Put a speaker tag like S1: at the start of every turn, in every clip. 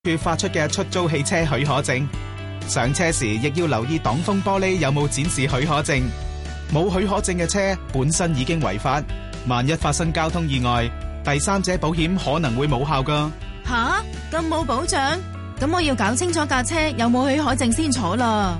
S1: 佢發出嘅出租汽車許可證，上車時亦要留意擋風玻璃有冇展示許可證。冇許可證嘅車本身已經違法，萬一發生交通意外，第三者保險可能會冇效㗎。
S2: 吓，咁冇保障？咁我要搞清楚架車有冇許可證先坐啦。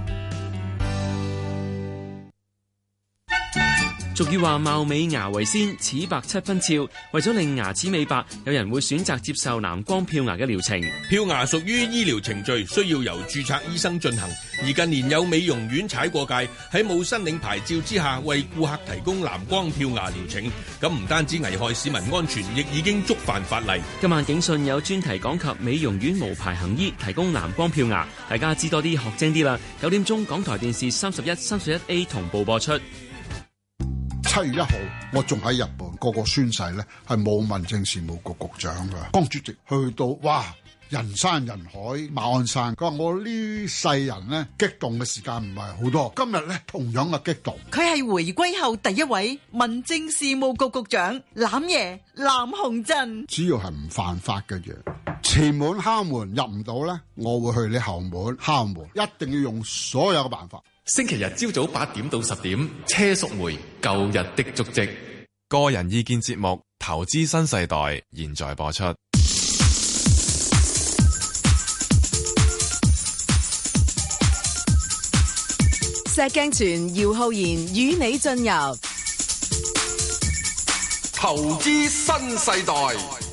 S3: 俗語話貌美牙為先，齒白七分俏。為咗令牙齒美白，有人會選擇接受藍光漂牙嘅療程。
S4: 漂牙屬於醫療程序，需要由註冊醫生進行。而近年有美容院踩過界，喺冇申領牌照之下為顧客提供藍光漂牙療程，咁唔單止危害市民安全，亦已經觸犯法例。
S3: 今晚警訊有專題講及美容院無牌行醫提供藍光漂牙，大家知多啲學精啲啦。9點鐘港台電視31、31A 同步播出。
S5: 7月1號，我仲喺日本，個宣誓咧係冇民政事務局局長噶。江主席去到，哇，人山人海，馬鞍山。佢話我呢世人咧激動嘅時間唔係好多，今日咧同樣嘅激動。
S6: 佢係回歸後第一位民政事務局局長，攬爺藍鴻震。
S5: 只要係唔犯法嘅嘢，前門敲門入唔到咧，我會去你後門敲門，一定要用所有嘅辦法。
S7: 星期日朝早8點到10點，車淑梅舊日的足跡，
S8: 個人意見節目《投資新世代》現在播出。
S9: 石鏡泉、姚浩然與你進入《
S7: 投資新世代》。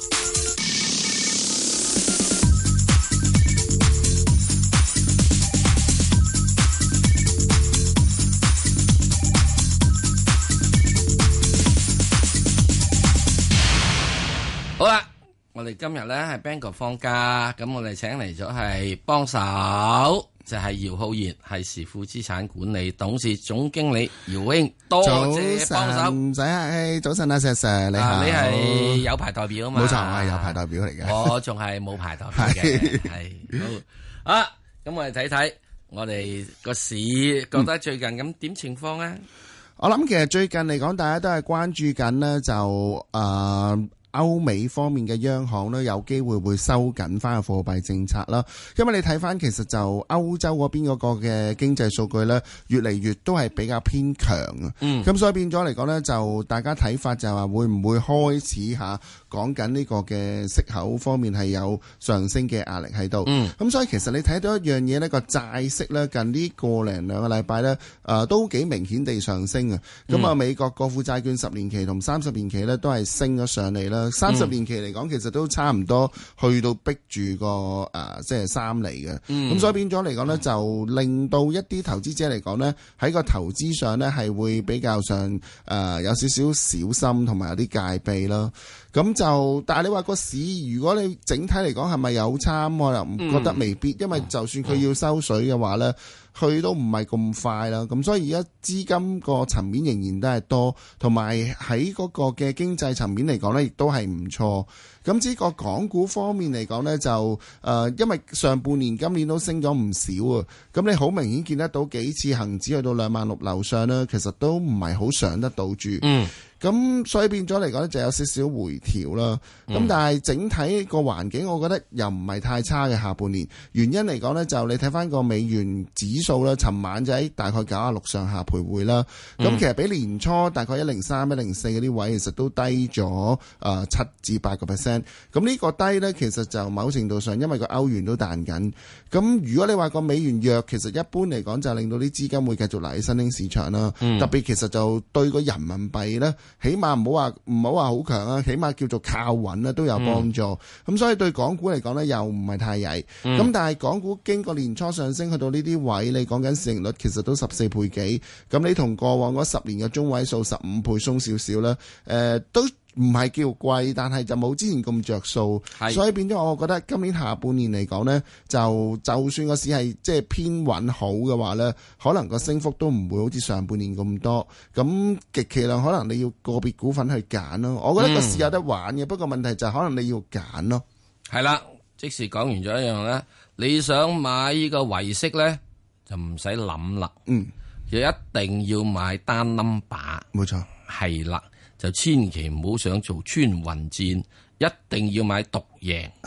S10: 好啦，我哋今日咧係 Bangor 放假，咁我哋請嚟咗係幫手，就係姚浩然，係時富資產管理董事總經理姚兄，多謝幫手。
S11: 唔使客氣，早晨啊，石 Sir， 你好。
S10: 你係有牌代表啊嘛？
S11: 冇錯，我係有牌代表嚟嘅。
S10: 我仲係冇牌代表嘅，係好啊。咁我哋睇睇我哋個市，覺得最近咁點情況啊？
S11: 我諗其實最近嚟講，大家都係關注緊呢，就歐美方面嘅央行呢，有機會收緊翻個貨幣政策啦。因為你睇翻其實就歐洲嗰邊嗰個嘅經濟數據呢，越嚟越都係比較偏強啊。咁所以變咗嚟講呢，就大家睇法就係話會唔會開始下講緊呢個嘅息口方面係有上升嘅壓力喺度。咁所以其實你睇到一樣嘢呢，個債息呢，近呢個零兩個禮拜呢，都幾明顯地上升啊。咁美國國庫債券10年期同30年期呢，都係升咗上嚟啦。30年期嚟講，其實都差唔多去到逼住個即係3厘嘅。咁所以變咗嚟講呢，就令到一啲投資者嚟講呢，喺個投資上呢，係會比較上有少少小心同埋有啲戒備咯。咁就，但係你話個市，如果你整體嚟講係咪有差，我又唔覺得未必，因為就算佢要收水嘅話呢，佢都唔係咁快啦。咁所以而家資金個層面仍然都係多，同埋喺嗰個嘅經濟層面嚟講呢，亦都係唔錯。咁至於個港股方面嚟講呢，就因為上半年今年都升咗唔少啊。咁你好明顯見得到幾次恒指去到26000樓上呢，其實都唔係好上得到住。咁所以變咗嚟講咧，就有少少回調啦。咁但係整體個環境，我覺得又唔係太差嘅下半年。原因嚟講呢，就你睇翻個美元指數啦，尋晚就喺大概96上下徘徊啦。咁其實比年初大概103、104嗰啲位，其實都低咗7至8%。咁呢個低呢，其實就某程度上因為個歐元都彈緊。咁如果你話個美元弱，其實一般嚟講就令到啲資金會繼續嚟喺新興市場啦。特別其實就對個人民幣呢，起碼唔好話好強啊，起碼叫做靠穩啦，都有幫助。咁所以對港股嚟講呢，又唔係太曳。咁但係港股經過年初上升去到呢啲位，你講緊市盈率其實都14倍幾。咁你同過往嗰10年嘅中位數15倍鬆少少啦，都唔係叫貴，但係就冇之前咁着數，所以變咗我覺得今年下半年嚟講呢，就算個市係即係偏穩好嘅話呢，可能個升幅都唔會好似上半年咁多，咁極其量可能你要個別股份去揀咯。我覺得個市有得玩嘅，不過問題就係可能你要揀咯。
S10: 係啦，即時講完咗一樣咧，你想買呢個維息呢，就唔使諗啦，就一定要買單 number，
S11: 冇錯，
S10: 係啦。就千祈唔好想做穿雲箭，一定要買獨贏。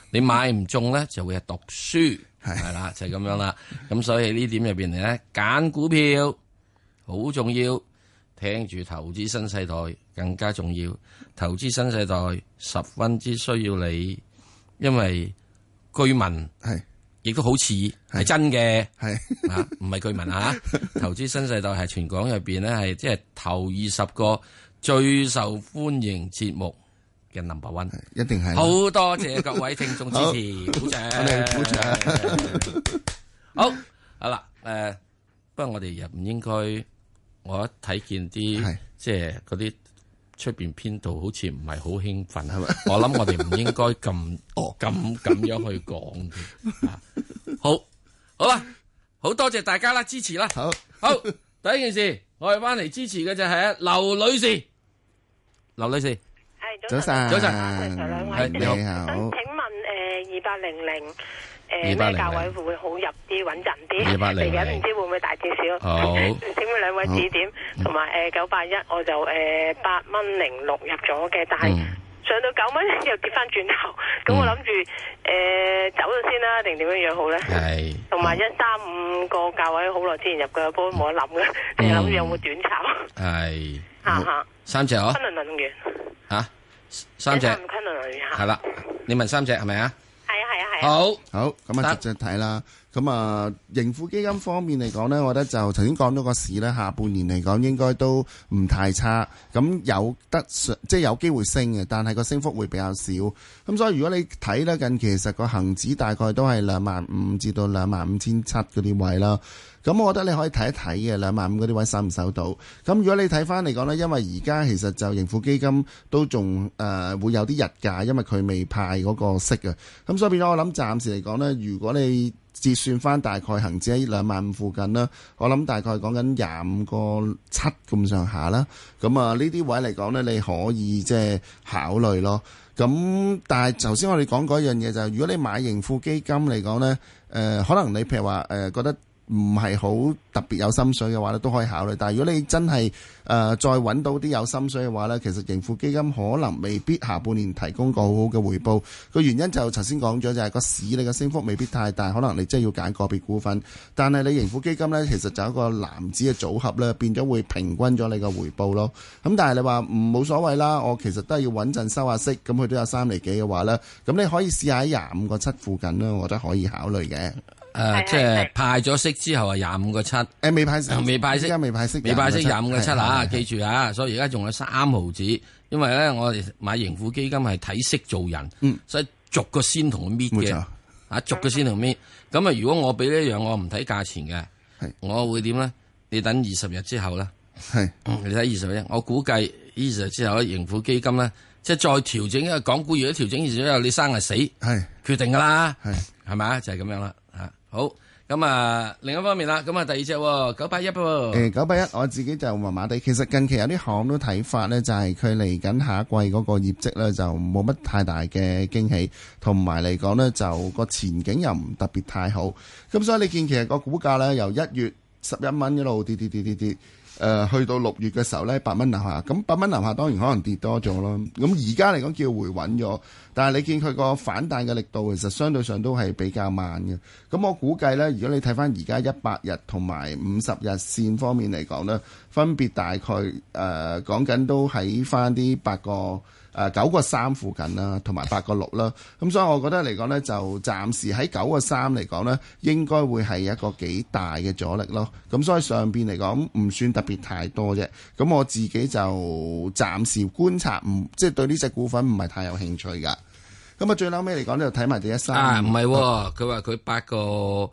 S10: 你買唔中咧就會係讀書，係啦，就係咁樣啦。咁所以呢點入邊嚟咧，揀股票好重要，聽住投資新世代更加重要。投資新世代十分之需要你，因為居民係亦都好似係真嘅，係啊，唔係居民啊。投資新世代係全港入邊咧係即係頭20個最受歡迎節目嘅 number one，
S11: 一定係。
S10: 好多謝各位聽眾支持，鼓掌，我哋鼓掌。好啦，不過我哋又唔應該，我一睇見啲即係嗰啲出邊編導好似唔係好興奮，係咪？我諗我哋唔應該咁樣去講嘅。好啦，好多謝大家啦，支持啦。好，第一件事，我哋翻嚟支持嘅就係劉女士。劉女士，
S12: 係
S10: 早晨，
S12: 早晨，兩位
S10: 你好。
S12: 想請問2800咩價位會好入啲穩陣啲？嚟緊唔知會唔會大跌少？
S10: 好，
S12: 請問兩位指點，同埋981我就8.06入咗嘅，但係上到9蚊又跌翻轉頭，咁我諗住走咗先啦，定點樣好咧？係，同埋135個價位好耐之前入嘅，不過冇得諗嘅，你諗住有冇短炒？係，
S10: 三隻哦，
S12: 昆侖能源
S10: 三隻，
S12: 昆侖能源
S10: 係啦，你問三隻係咪啊？
S12: 係。
S11: 好，咁啊，直接睇啦。咁啊，盈富基金方面嚟講呢，我覺得就頭先講到個市呢，下半年嚟講應該都唔太差。咁有得即係有機會升嘅，但係個升幅會比較少。咁所以如果你睇呢，近期其實個恆指大概都係25,000至到25,700嗰啲位啦。咁我覺得你可以睇一睇嘅25,000嗰啲位收唔收到。咁如果你睇翻嚟講呢，因為而家其實就盈富基金都仲會有啲日價，因為佢未派嗰個息啊。咁所以變咗我諗暫時嚟講呢，如果你折算翻大概恆指喺25,000附近啦，我諗大概講緊25.7咁上下啦。咁啊呢啲位嚟講呢，你可以即係考慮咯。咁但係頭先我哋講過一樣嘢就係，如果你買盈富基金嚟講呢，可能你譬如話覺得唔係好特別有心水嘅話咧，都可以考慮。但係如果你真係再揾到啲有心水嘅話咧，其實盈富基金可能未必下半年提供個好好嘅回報。個原因就頭先講咗，就係個市你嘅升幅未必太大，可能你真係要揀個別股份。但係你盈富基金咧，其實就一個籃子嘅組合咧，變咗會平均咗你嘅回報咯。咁但係你話冇所謂啦，我其實都係要穩陣收下息，咁佢都有3厘幾嘅話咧，咁你可以試下喺25.7附近啦，我覺得可以考慮嘅。
S10: 即係派咗息之後係25.7，
S11: 未派息，
S10: 未派息，
S11: 而家未派息
S10: 25.7啊！記住啊，所以而家仲有3毫子，因為咧我哋買盈富基金係睇息做人，所以逐個先同佢搣嘅，逐個先同搣。咁啊，如果我俾呢樣我唔睇價錢嘅，我會點咧？你等20日之後咧，你睇20日，我估計20日之後咧，盈富基金咧，即係再調整，因為港股如果調整20日之後，你生係死，決定噶啦，係咪啊？就係咁樣啦。好，咁啊，另一方面啦，咁啊，第二隻981喎。
S11: 981我自己就麻麻地，其實近期有啲行都睇法咧，就係佢嚟緊下一季嗰個業績咧，就冇乜太大嘅驚喜，同埋嚟講咧，就個前景又唔特別太好。咁所以你見其實個股價咧，由1月11蚊一路跌，去到6月嘅時候咧，8蚊樓下，咁8蚊樓下當然可能跌多咗咯。咁而家嚟講叫回穩咗，但係你見佢個反彈嘅力度其實相對上都係比較慢嘅。咁我估計咧，如果你睇翻而家100日同埋50日線方面嚟講咧，分別大概講緊都喺翻啲9.3附近啦，同埋8.6啦。咁所以我覺得嚟講呢，就暫時喺9.3嚟講呢，應該會係一個幾大嘅阻力咯。咁所以上邊嚟講唔算特別太多啫。咁我自己就暫時觀察，即係對呢隻股份唔係太有興趣噶。咁啊，最後尾嚟講就睇埋第135。
S10: 唔係喎，佢話佢8.06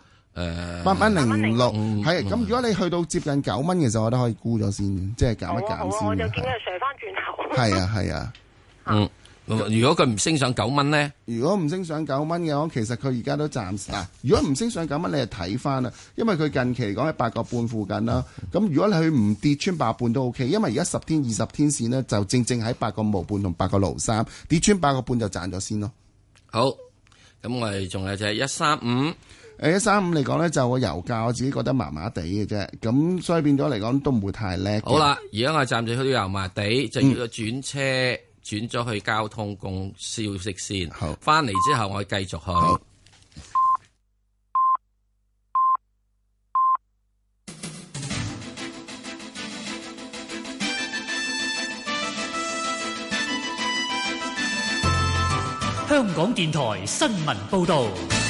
S11: 係。咁如果你去到接近9蚊嘅時候，我覺得可以沽咗先，即係減一減先。
S12: 我就見佢上翻轉頭。
S11: 係啊。
S10: 如果佢唔升上9蚊咧，
S11: 如果唔升上9蚊嘅話，其實佢而家都暫時如果唔升上9蚊，你就睇翻啦，因為佢近期嚟講喺8.5附近啦。咁如果你佢唔跌穿8.5都 OK，因為而家10天、20天線呢，就正喺8.5同8.03，跌穿8.5就賺咗先咯。
S10: 好，咁我哋仲有就係135。
S11: 135嚟講呢，就個油價我自己覺得麻麻地嘅啫，咁所以變咗嚟講都唔會太叻。
S10: 好啦，而家我暫時去到油麻地，就要個轉車轉咗去交通公消息先。好，翻嚟之後我繼續去。
S13: 香港電台新聞報道。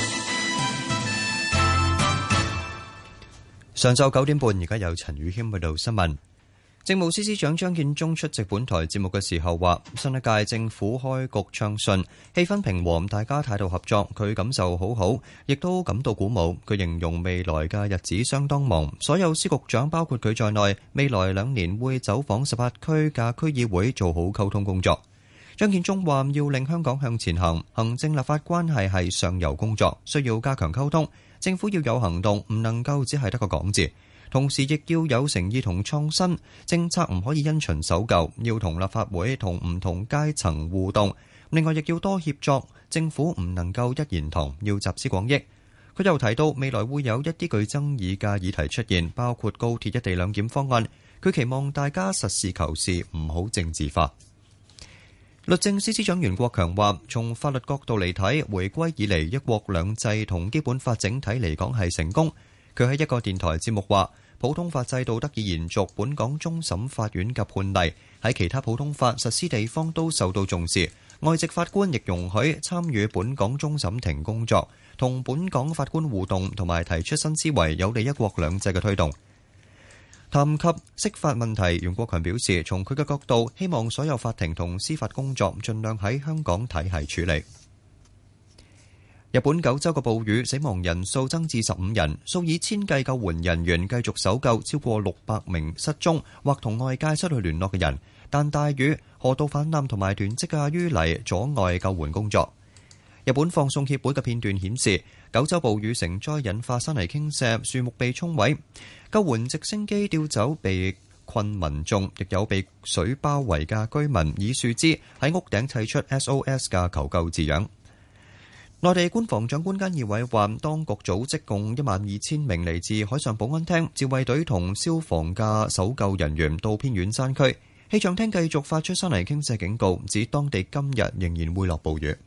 S14: 上晝9點半，而家有陳宇謙報道新聞。政務司司長張建宗出席本台節目嘅時候話，新一屆政府開局暢順，氣氛平和，大家態度合作，佢感受好好，亦都感到鼓舞。佢形容未來嘅日子相當忙，所有司局長包括佢在內，未來2年會走訪18區嘅區議會，做好溝通工作。張建宗話，要令香港向前行，行政立法關係係上游工作，需要加強溝通。政府要有行動，唔能夠只係得個講字，同時亦要有誠意同創新，政策唔可以因循守舊，要同立法會同唔同階層互動。另外亦要多協作，政府唔能夠一言堂，要集思廣益。佢又提到未來會有一啲具爭議嘅議題出現，包括高鐵一地兩檢方案，佢期望大家實事求是，唔好政治化。律政司司長袁國強話，從法律角度嚟睇，回歸以嚟一國兩制同基本法整體嚟講係成功。佢喺一個電台節目話，普通法制度得以延續，本港終審法院嘅判例喺其他普通法實施地方都受到重視，外籍法官亦容許參與本港終審庭工作，同本港法官互動同埋提出新思維，有利一國兩制嘅推動。談及釋法問題，袁國強表示，從佢嘅角度，希望所有法庭同司法工作盡量喺香港體系處理。日本九州嘅暴雨，死亡人數增至15人，數以千計救援人員繼續搜救超過600名失蹤或同外界失去聯絡嘅人，但大雨、河道泛濫同埋囤積嘅淤泥阻礙救援工作。日本放送協會嘅片段顯示，九州暴雨成災引發山泥傾瀉，樹木被沖毀，救援直升機調走被困民眾，亦有被水包圍嘅居民以樹枝喺屋頂砌出 SOS 嘅求救字樣。內地官房長官菅義偉話，當局組織共12000名嚟自海上保安廳、自衛隊同消防嘅搜救人員到偏遠山區。氣象廳繼續發出山泥傾瀉警告，指當地今日仍然會落暴雨。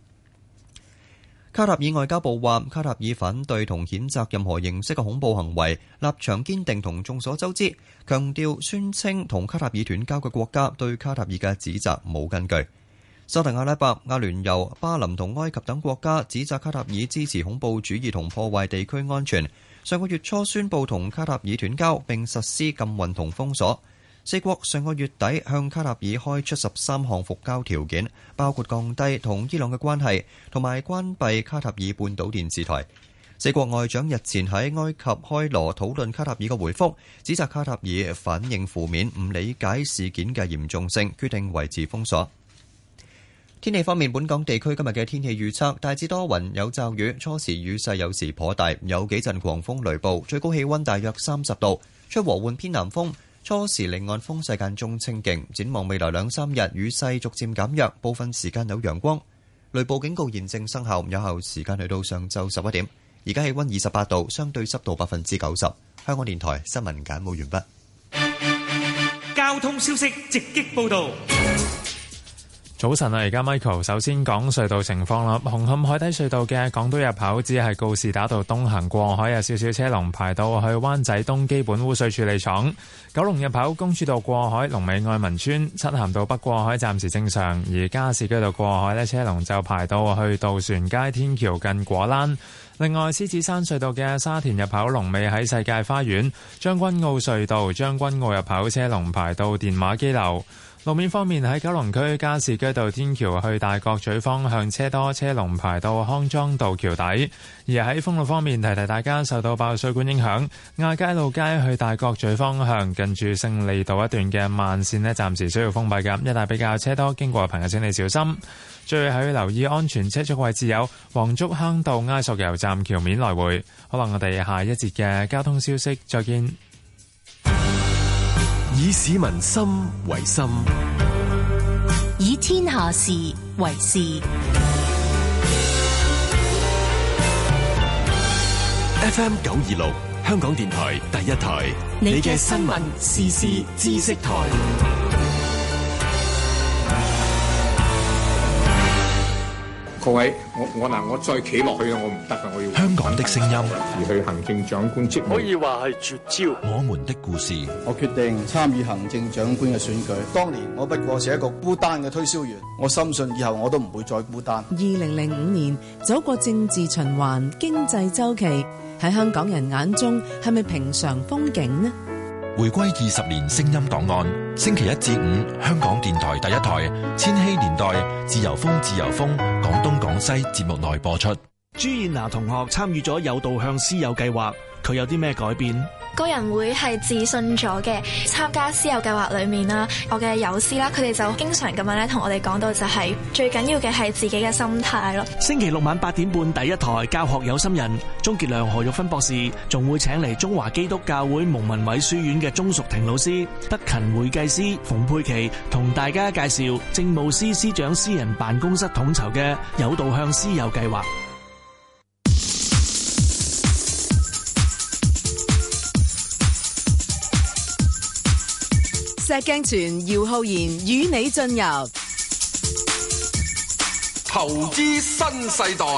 S14: 卡塔爾外交部話，卡塔爾反對同譴責任何形式嘅恐怖行為，立場堅定同眾所周知，強調宣稱同卡塔爾斷交嘅國家對卡塔爾嘅指責冇根據。沙特阿拉伯、阿聯酋、巴林同埃及等國家指責卡塔爾支持恐怖主義同破壞地區安全，上個月初宣布同卡塔爾斷交並實施禁運同封鎖。四國上個月底向卡塔爾開出13項復交條件，包括降低同伊朗嘅關係，同埋關閉卡塔爾半島電視台。四國外長日前喺埃及開羅討論卡塔爾嘅回覆，指責卡塔爾反應負面，唔理解事件嘅嚴重性，決定維持封鎖。天氣方面，本港地區今日嘅天氣預測大致多雲有驟雨，初時雨勢有時頗大，有幾陣狂風雷暴，最高氣溫大約30度，吹和緩偏南風。初時離岸風勢間中清勁，展望未來2-3日雨勢逐漸減弱，部分時間有陽光。雷暴警告現正生效，有效時間去到上晝11點。而家氣溫28度，相對濕度90%。香港電台新聞簡報完畢。
S13: 交通消息直擊報道。
S15: 早晨啊，而家 Michael 首先講隧道情況啦。紅磡海底隧道嘅港島入口只係告士打道東行過海有少少車龍排到去灣仔東基本污水處理廠。九龍入口公主道過海龍尾愛民村，漆咸道北過海暫時正常，而加士居道過海呢車龍就排到去渡船街天橋近果欄。另外，獅子山隧道嘅沙田入口龍尾喺世界花園，將軍澳隧道將軍澳入口車龍排到電話機樓。路面方面，喺九龍區加士居道天橋去大角咀方向車多，車龍排到康莊道橋底。而喺封路方面，提提大家受到爆水管影響，亞皆老街去大角咀方向近住勝利道一段嘅慢線呢，暫時需要封閉嘅，一帶比較車多，經過嘅朋友請你小心。最後要留意安全車速位置有黃竹坑道埃索油站橋面來回。可能我哋下一節嘅交通消息再見。
S16: 以市民心為心，
S17: 以天下事為事。
S16: FM 926，香港電台第一台，你嘅新聞時事知識台。
S18: 各位，我再企落去我唔得啊！我要
S16: 香港的聲音，
S18: 而去行政長官職務，
S19: 可以話係絕招。
S16: 我們的故事，
S20: 我決定參與行政長官嘅選舉。當年我不過是一個孤單嘅推銷員，我深信以後我都唔會再孤單。
S9: 2005年走過政治循環、經濟周期，喺香港人眼中係咪平常風景呢？
S16: 回歸20年聲音檔案，星期1至5香港電台第一台，千禧年代自由風廣東廣西節目內播出。
S21: 朱燕娜同學參與咗有導向師友計劃，佢有啲咩改變？
S22: 個人會係自信咗嘅。參加師友計劃裏面啦，我嘅友師啦，佢哋就經常咁樣咧同我哋講到就係最緊要嘅係自己嘅心態咯。
S21: 星期六晚8點半第一台教學有心人，鍾傑良、何玉芬博士仲會請嚟中華基督教會蒙民偉書院嘅鍾淑婷老師、德勤會計師馮佩琪同大家介紹政務司司長私人辦公室統籌嘅有導向師友計劃。
S9: 石鏡泉、姚浩然與你進入
S23: 投資新世代。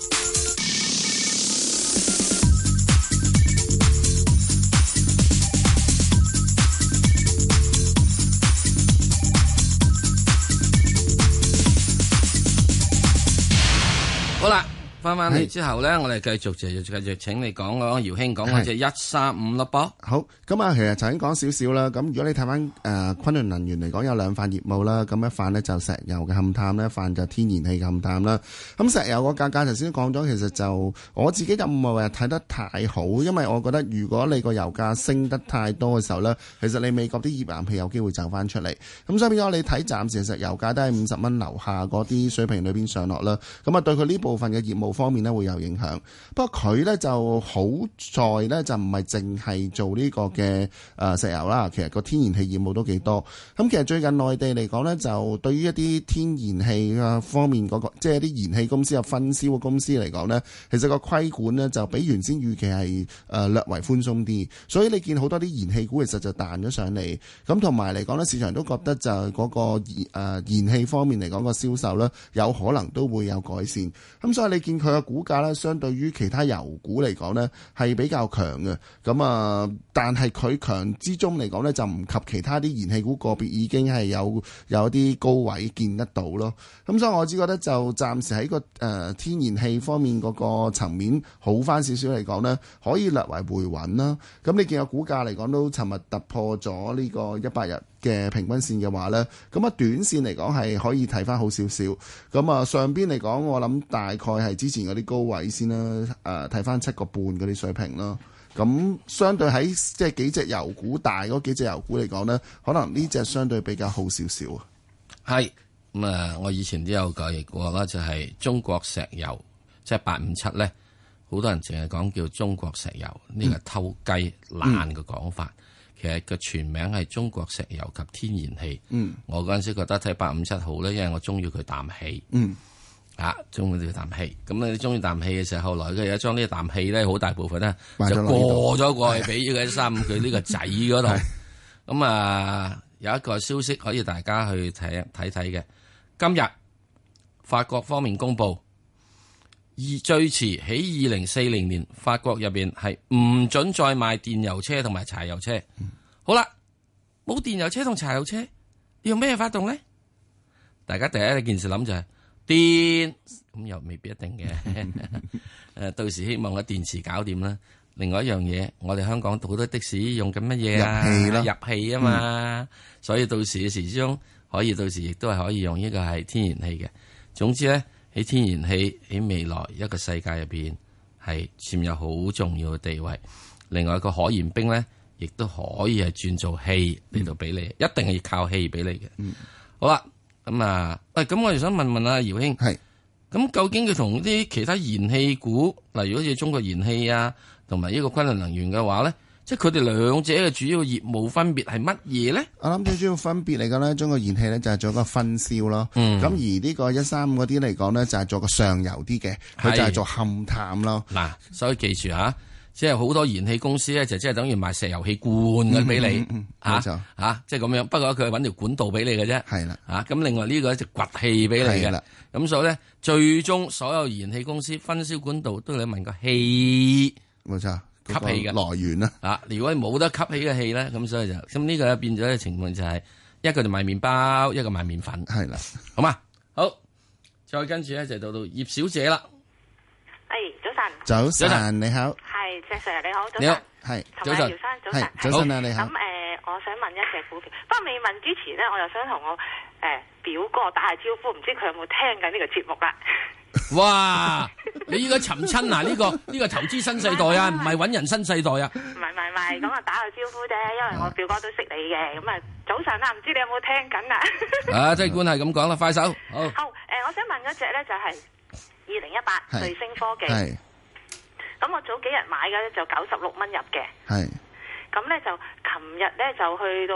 S10: 好啦，翻嚟之後咧，我哋繼續請你講講姚兄講嗰隻135咯噃。
S11: 好，咁啊，其實就已經講少少啦。咁如果你睇翻昆侖能源嚟講，有兩範業務啦。咁一範呢就石油嘅勘探啦，一範就天然氣嘅勘探啦。咁石油個價格頭先講咗，其實就我自己就唔係話睇得太好，因為我覺得如果你個油價升得太多嘅時候呢，其實你美國啲頁岩氣有機會走翻出嚟。咁所以變咗你睇暫時石油價都係50蚊樓下嗰啲水平裏邊上落啦。咁啊對佢呢部分嘅業務方面呢會有影響。不過佢呢就好在呢，就唔係淨係做呢個嘅石油啦，其實個天然氣業務都幾多。咁其實最近內地嚟講呢，就對於一啲天然氣啊方面嗰個，即係一啲燃氣公司啊分銷嘅公司嚟講呢，其實個規管呢就比原先預期係略為寬鬆啲。所以你見好多啲燃氣股其實就彈咗上嚟。咁同埋嚟講呢，市場都覺得就嗰個燃氣方面嚟講個銷售呢，有可能都會有改善。咁所以你見佢嘅股價呢，相對於其他油股嚟講呢，係比較強嘅。咁但係佢強之中嚟講呢，就唔及其他啲燃氣股個別已經係有一啲高位見得到咯。咁所以我只覺得就暫時喺個天然氣方面嗰個層面好翻少少嚟講呢，可以略為回穩啦。咁你見個股價嚟講都尋日突破咗呢個100日嘅平均線嘅話呢，咁短線嚟講係可以睇翻好少少。咁上邊嚟講，我諗大概係之前嗰啲高位先啦。睇翻7個半嗰啲水平咯。咁相對喺即係幾隻油股大嗰幾隻油股嚟講呢，可能呢隻相對比較好少少啊。
S10: 係咁我以前都有講過啦，就係中國石油即係857咧，好多人淨係講叫中國石油，呢個偷雞懶嘅講法。其實個全名係中國石油及天然氣。我嗰陣時覺得睇857好咧，因為我中意佢啖氣。中意呢啖氣。咁你中意啖氣嘅時候，後來佢有將呢啖氣咧，好大部分咧就過咗過去俾咗佢135佢呢個仔嗰度。咁有一個消息可以大家去睇嘅。今日法國方面公布，最遲喺2040年，法國入邊係唔准再賣電油車同埋柴油車。好啦，冇電油車同柴油車，你用咩發動咧？大家第一件事諗就係電，咁又未必一定嘅。到時希望個電池搞掂啦。另外一樣嘢，我哋香港好多的士用緊乜嘢啊？入氣啊嘛。所以到時嘅時鐘可以，到時亦都係可以用呢個係天然氣嘅。總之咧，喺天然氣喺未來一個世界入邊係佔有好重要嘅地位。另外一個可燃冰咧，亦都可以係轉做氣嚟到俾你，一定係要靠氣俾你嘅。好啦。咁我哋想問問阿姚兄，咁究竟佢同啲其他燃氣股，例如好似中國燃氣啊，同埋呢個昆侖能源嘅話咧，即係佢哋兩者嘅主要業務分別係乜嘢咧？我諗最主要分別嚟講咧，中國燃氣咧就係做一個分銷咯，咁而呢個135嗰啲嚟講咧就係做個上游啲嘅，佢就係做勘探咯。嗱，所以記住即係好多燃氣公司咧，就即係等於賣石油氣罐嘅俾你即係咁樣。不過佢係揾條管道俾你嘅啫。
S11: 係啦，
S10: 咁另外呢個就掘氣俾你嘅。咁所以咧，最終所有燃氣公司分銷管道都要你問個氣，
S11: 冇錯，
S10: 吸氣嘅
S11: 來源啦。
S10: 如果你冇得吸氣嘅氣咧，咁所以就咁呢個變咗嘅情況就係一個就賣麵包，一個賣麵粉。
S11: 係啦，
S10: 好嘛，好，再跟住咧就到葉小姐啦。
S11: 早晨，你好。
S12: 係，石 Sir 你好，早晨。
S10: 你好，
S11: 係。
S12: 同埋姚生早晨。
S11: 早晨啊，你好。
S12: 咁我想問一隻股票，不過未問之前咧，我又想同我表哥打下招呼，唔知佢有冇聽緊呢個節目啦？
S10: 哇！你依家尋親啊？呢個投資新世代啊，唔係揾人新世代啊？
S12: 唔係，咁啊打個招呼啫，因為我表哥都識你嘅。咁啊，早晨啊，唔知你有冇聽緊啊？
S10: 即係官係咁講啦，快手。好，
S12: 我想問嗰隻咧就係2018瑞星科技。
S11: 係。
S12: 咁我早幾日買嘅咧就96蚊入嘅。係。咁咧就琴日咧就去到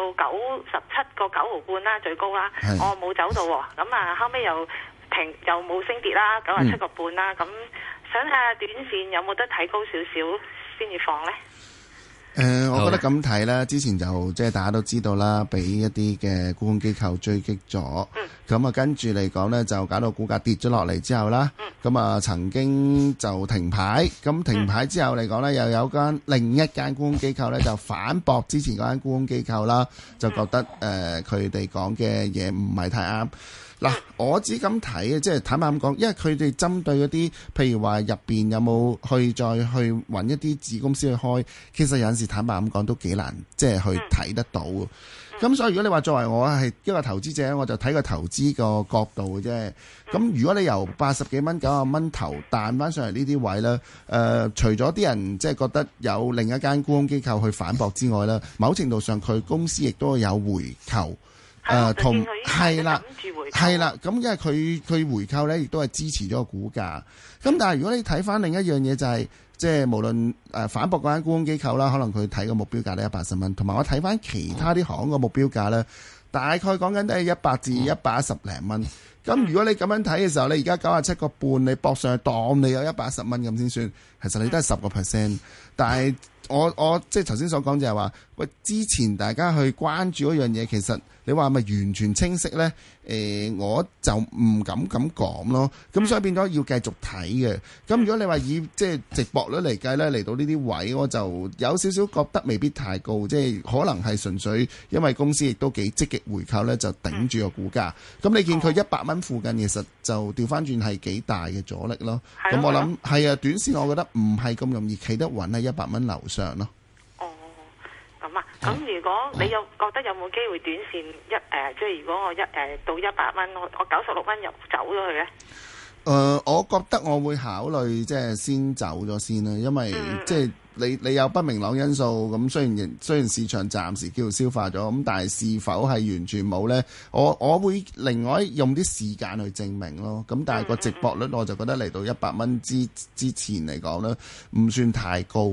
S12: 97個9毫半啦，最高啦。我冇走到喎。咁啊後尾又冇升跌啦，97個半啦。咁想睇下短線有冇得睇高少少先至放咧？
S11: 我覺得咁睇啦，之前就即係大家都知道啦，俾一啲嘅沽空機構追擊咗，咁啊跟住嚟講呢，就搞到股價跌咗落嚟之後啦，咁啊曾經就停牌，咁停牌之後嚟講呢，又有另一間沽空機構呢，就反駁之前嗰間沽空機構啦，就覺得佢哋講嘅嘢唔係太啱。嗱，我只咁睇嘅，即係坦白咁講，因為佢哋針對嗰啲，譬如話入邊有冇再去揾一啲子公司去開，其實有陣時坦白咁講都幾難，即係去睇得到。咁所以如果你話作為我係一個投資者，我就睇個投資個角度嘅啫。咁如果你由80幾蚊、90蚊頭彈翻上嚟呢啲位咧，除咗啲人即係覺得有另一間沽空機構去反駁之外咧，某程度上佢公司亦都有回購。同係啦，咁因為佢回購咧，亦都係支持咗個股價。咁但係如果你睇翻另一樣嘢，就係即係無論反駁嗰間沽空機構啦，可能佢睇個目標價咧180蚊，同埋我睇翻其他啲行個目標價咧，大概講緊都係100至110零蚊。咁如果你咁樣睇嘅時候，你而家97個半，你搏上去當你有110蚊咁先算，其實你都係10%。但係我即係頭先所講就係話，喂，之前大家去關注嗰樣嘢，其實你話係咪完全清晰呢？我就唔敢咁講咯。咁所以變咗要繼續睇嘅。咁如果你話以即係值博率嚟計呢，嚟到呢啲位，我就有少少覺得未必太高，即係可能係純粹因為公司亦都幾積極回購呢，就頂住個股價。咁你見佢100蚊附近，其實就調翻轉係幾大嘅阻力咯。咁我諗係啊，短線我覺得唔係咁容易企得穩喺100蚊樓上咯。
S12: 咁啊，咁如果你有覺得有冇機會短線即係如果我到100蚊，我96蚊又走咗去咧？
S11: 我覺得我會考慮即係先走咗先啦，因為即係你有不明朗因素，咁雖然市場暫時叫做消化咗，咁但係是否係完全冇呢？我會另外用啲時間去證明咯。咁但係個值博率我就覺得嚟到100蚊之前嚟講呢，唔算太高。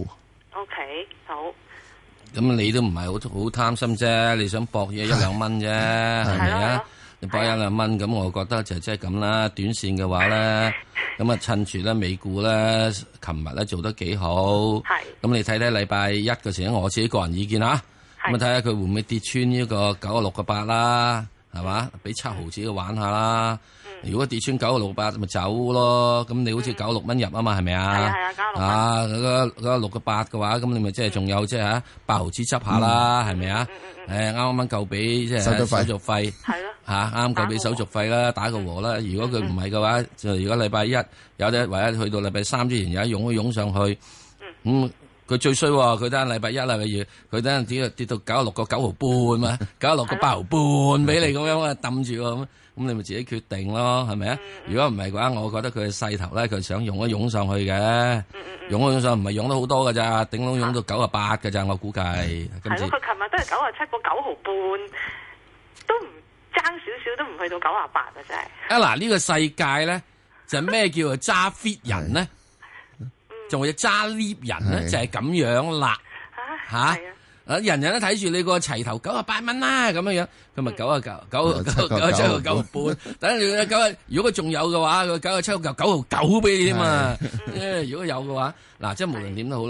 S12: OK， 好。
S10: 咁你都唔係好貪心啫，你想搏嘢1-2蚊啫，係咪啊？你搏1-2蚊，咁我覺得就即係咁啦。短線嘅話咧，咁啊趁住咧美股咧，琴日咧做得幾好。係。咁你睇睇禮拜一嘅時候，我自己個人意見啊。咁啊睇下佢會唔會跌穿呢個96個8啦，係嘛？俾7毫子玩下啦。如果跌穿96個8咪走咯。咁你好似96蚊入啊嘛，係咪啊？係啊，96蚊。啊，嗰6個8嘅話，咁你咪即係仲有即係8毫子執下啦，係咪啊？啱夠俾即係手續費。係咯。啱夠俾手續費啦，打個和啦。如果佢唔係嘅話，就如果禮拜一有得，或者去到禮拜三之前有一湧上去。佢最衰喎，佢等禮拜一禮拜二，佢等跌到96個9毫半嘛，96個8毫半俾你咁樣啊，揼住喎咁你咪自己決定咯，係咪啊？如果唔係嘅話，我覺得佢嘅勢頭咧，佢想湧上去嘅，湧上唔係湧得好多㗎咋，頂籠湧到98㗎咋，我估計。
S12: 係咯，佢琴日都係97個9毫半，都唔爭少少，都唔去到98啊！真係。
S10: 嗱，呢個世界咧就咩叫做揸 fit 人咧？仲有揸 lift 人咧，就係咁樣啦，人人都睇住你個齊頭98蚊啦，咁樣樣，咁咪97個9毫半，等你如果佢仲有嘅話，佢97個9毫9俾你添嘛，如果有嘅話，嗱，即係無論點都好啦，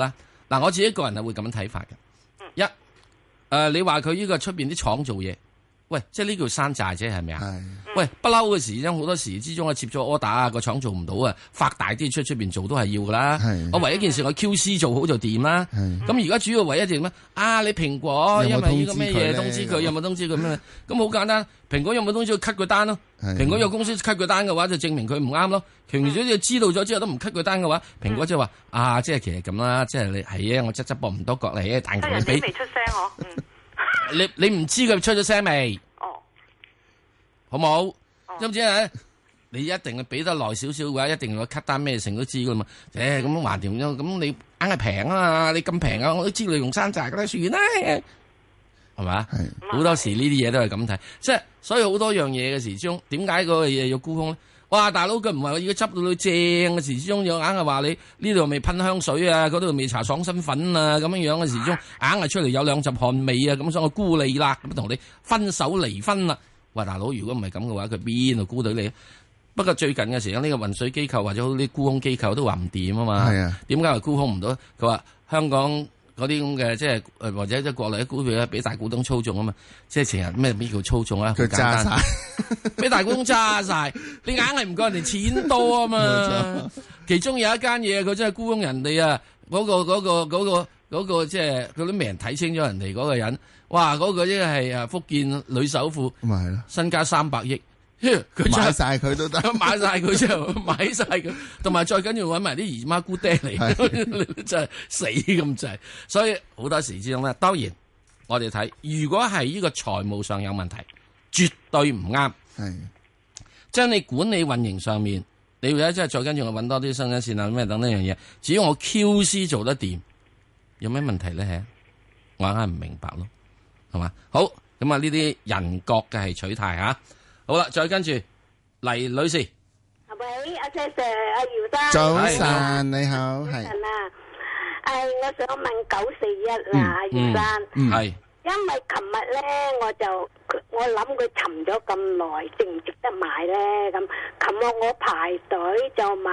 S10: 嗱，我自己個人係會咁樣睇法嘅。你話佢呢個出邊啲廠做嘢，喂，即係呢叫山寨啫，係咪啊？喂，不嬲嘅時因好多時之中啊，接咗 order 啊，個廠做唔到啊，發大啲出邊做都係要噶啦。我唯一件事我 QC 做好就掂啦。咁而家主要唯一點咩？你蘋果因為呢個咩嘢通知佢，有冇通知佢咩？咁好簡單，蘋果有冇通知佢 cut 佢單咯？蘋果有公司 cut 佢單嘅話，就證明佢唔啱咯。蘋果你知道咗之後都唔 cut 佢單嘅話，蘋果即係話即係其實咁啦，即係你係我側膊唔多角嚟，但係你俾
S12: 未出聲
S10: 你唔知佢出咗聲未？好冇？知唔知啊？你一定係俾得耐少少嘅話，一定要 cut 單咩成都知噶嘛。咁橫掂咁你硬係平啊嘛？你咁平啊，我都知你用山寨噶啦，算啦，係咪？好多時呢啲嘢都係咁睇，即係所以好多樣嘢嘅時鐘，點解嗰個嘢要沽空咧？哇！大佬佢唔係話要執到你正嘅時鐘，又硬係話你呢度未噴香水啊，嗰度未搽爽身粉啊，咁樣嘅時鐘，硬係出嚟有兩陣汗味啊，咁所以我沽你啦，咁同你分手離婚啦。喂，大佬，如果唔係咁嘅話，佢邊度沽到你？不過最近嘅時候，呢個運水機構或者好啲沽空機構都話唔掂啊嘛。係啊，點解話沽空唔到？佢話香港嗰啲咁嘅即係或者即係國內嘅股票咧，俾大股東操縱啊嘛。即係成日咩叫操縱啊？佢揸晒，俾大股東揸晒，你硬係唔夠人哋錢多啊嘛。其中有一間嘢，佢真係沽空人哋啊！嗰個即係嗰啲名人睇清咗人哋嗰個人。哇！嗰個即係福建女首富，咪係咯，身家300億，佢
S11: 買晒佢都得，
S10: 買晒佢之後買晒佢，同埋再緊要揾埋啲姨媽姑爹嚟，真係死咁滯。所以好多時之中咧，當然我哋睇，如果係呢個財務上有問題，絕對唔啱。係將你管理運營上面，你會即係再跟住我揾多啲生產線啊咩等等樣嘢，只要我 QC 做得掂，有咩問題咧？我硬係唔明白咯。係嘛？好咁啊！呢啲人國嘅係取態吓。好啦，再跟住黎女士。
S1: 喂，阿 Sir， 阿姚生。
S11: 早晨，你好，係。
S1: 早晨啊，我想問941啦，阿姚生。
S10: 係。
S1: 因為琴日咧，我諗佢沉咗咁耐，值唔值得買咧？咁琴日我排隊就買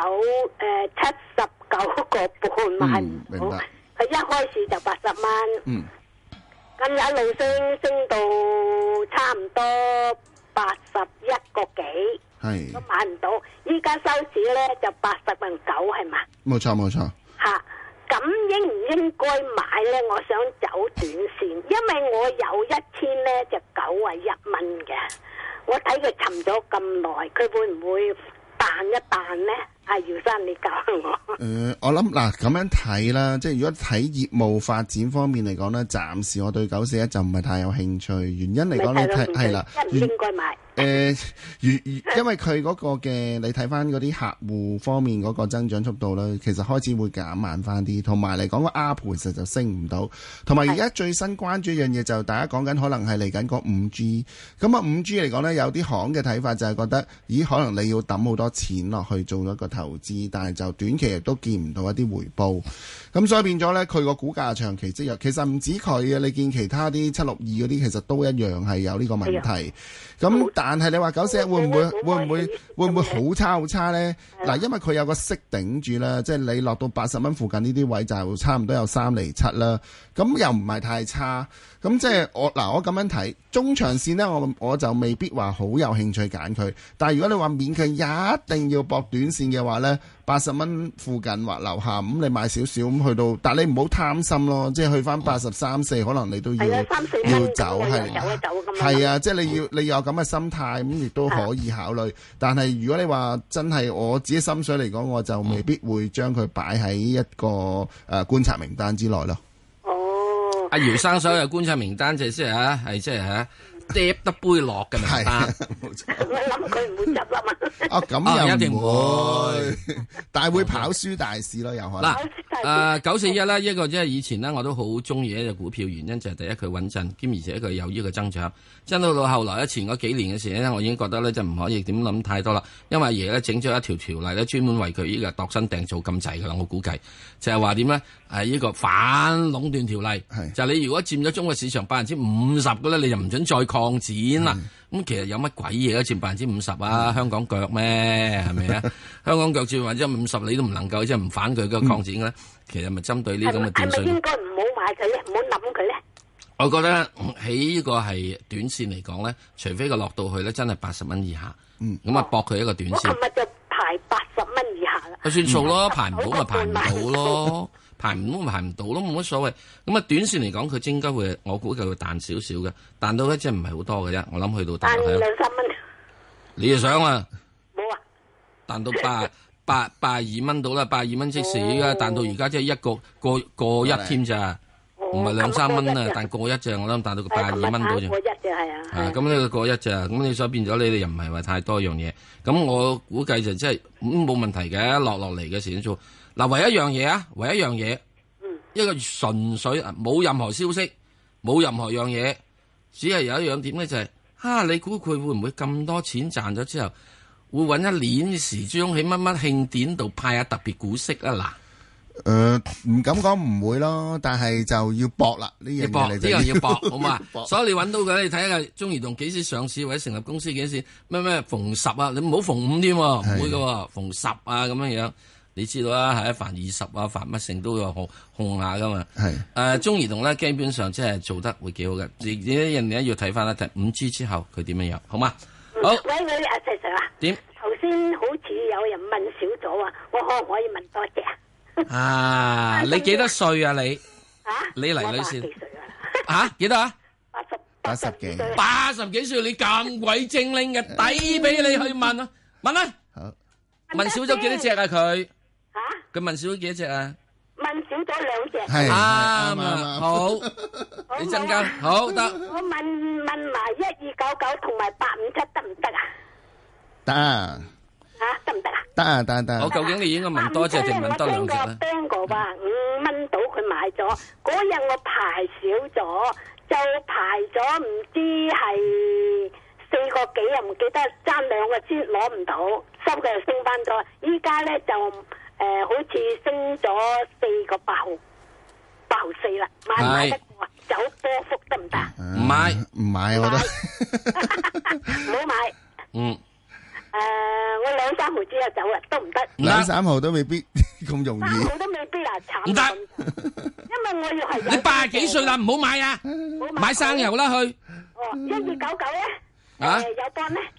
S1: 79個半買唔到，佢一開始就80蚊。咁一路升到差唔多81個幾，都買唔到。依家收市咧就80.9係嘛？冇錯。吓，咁應唔應該買咧？我想走短線，因為我有1000咧就91蚊嘅。我睇佢沉咗咁耐，佢會唔會彈一彈咧？阿姚生，你教我。
S11: 我諗嗱咁樣睇啦，即係如果睇業務發展方面嚟講咧，暫時我對941就唔係太有興趣。原因嚟講咧，係啦，
S1: 應唔應該買？
S11: 因為佢嗰個嘅你睇翻嗰啲客戶方面嗰個增長速度咧，其實開始會減慢翻啲，同埋嚟講個 ARPU 其實就升唔到，同埋而家最新關注一樣嘢就大家講緊可能係嚟緊個 5G， 咁啊 5G 嚟講咧，有啲行嘅睇法就係覺得，咦可能你要抌好多錢落去做一個投資，但係就短期亦都見唔到一啲回報，咁所以變咗咧佢個股價長期積弱，其實唔止佢嘅，你見其他啲762嗰啲其實都一樣係有呢個問題，咁但係你話941會唔會好差咧？嗱，因為佢有個息頂住啦，即係你落到80蚊附近呢啲位就差唔多有3.7厘啦，咁又唔係太差，咁即係我咁樣睇中長線咧，我就未必話好有興趣揀佢，但係如果你話勉強一定要搏短線嘅話咧，80蚊附近或樓下咁你買少少咁去到，但係你唔好貪心咯，即係去翻83、4可能你都要走，係啊，即係你要有咁嘅心態，咁亦都可以考慮。但係如果你話真係我自己心水嚟講，我就未必會將佢擺喺一個觀察名單之內咯。
S1: 哦，
S10: 阿姚生所有觀察名單就係即係跌得杯落嘅名單，
S1: 我諗佢唔會執笠嘛。
S11: 咁又
S10: 一定會，
S11: 但係會跑輸大市咯，有可能。
S10: 嗱，941啦，一個即係以前咧，我都好中意一隻股票，原因就係第一佢穩陣，兼而且佢有呢個增長。真到後來前嗰幾年嘅時咧，我已經覺得咧就唔可以點諗太多啦，因為阿爺咧整咗一條條例咧，專門為佢呢個度身訂造咁滯噶啦，我估計就係話點咧？呢個反壟斷條例，就係你如果佔咗中國市場50%嘅咧，你就唔准再擴擴展啦。咁其實有乜鬼嘢都佔50%啊？香港腳咩？係咪啊？香港腳佔50%，你都唔能夠即係唔反佢嘅擴展咧。其實咪針對呢咁嘅短訊。
S1: 係咪應該唔好買佢咧？唔好諗佢咧？
S10: 我覺得喺呢個係短線嚟講咧，除非佢落到去咧真係80蚊以下，咁啊搏佢一個短線。
S1: 我琴日就排80蚊以下啦。
S10: 算數咯，排唔到咪排唔到咯。排唔到咪排唔到咯，冇乜所謂。咁啊，短線嚟講，佢應該會，我估計會彈少少嘅，彈到咧即係唔係好多嘅啫。我諗去到彈
S1: 2-3蚊。
S10: 你又想啊？
S1: 冇啊！
S10: 彈到82蚊到啦，82蚊即時而家彈到而家即係過一添咋，唔係2-3蚊啊，彈過一咋，我諗彈到個82蚊到咋。
S1: 過一咋係啊。
S10: 咁呢個過一咋，咁你所以變咗你哋又唔係話太多樣嘢，咁我估計就即係冇問題嘅，落嚟嘅時先做。嗱，唯一一樣嘢，一個純粹冇任何消息，冇任何樣嘢，只係有一樣點咧就係，你估佢會唔會咁多錢賺咗之後，會揾一年時鐘喺乜乜慶典度派下特別股息啊？嗱，
S11: 唔敢講唔會咯，但係就要搏啦，呢樣嘢
S10: 呢樣要搏，好嘛？所以你揾到佢，你睇下中移動幾時上市或者成立公司幾時，咩逢10啊，你唔好逢5添，唔會噶，逢10啊咁樣樣。你知道啦，係凡20啊，凡乜成都有控下噶嘛。係中移動咧，基本上即係做得會幾好嘅。人哋要睇翻啦，睇5G 之後佢點樣樣，好嘛？好。
S1: 喂，阿石 Sir 啊。
S10: 點？
S1: 頭先好似有人問少咗啊，我可唔可以問多隻
S10: 啊？你幾多歲啊？你？你黎女士？幾多啊
S11: ？80幾。
S10: 80幾歲，你咁鬼精靈嘅，抵俾你去問啊！問啊！好。問少咗幾多隻啊？佢問少咗幾多隻啊？
S1: 問少咗2隻。
S11: 係
S10: 啱，好，你增加好得。
S1: 我問埋1299同埋857得唔得啊？
S11: 得啊。
S1: 得唔得啊？
S11: 得。
S10: 我究竟你應該問多隻定問多2隻咧
S1: ？Bang 哥話5蚊到佢買咗，嗰日我排少咗，就排咗唔知係4個幾，又唔記得爭2個先攞唔到，收嘅又升翻咗，依家咧就好似升咗4個8毫4啦，買唔買得過啊？走波幅得唔得？
S10: 唔買，
S11: 我覺得
S1: 唔好買。我2-3毫之後走啦，得唔得
S11: ？2-3毫都未必咁容易。
S1: 3毫都未必啊，慘。唔得，因為我要係
S10: 你80幾歲啦，唔好買啊！買生油啦去。
S1: 1299咧，有幫咧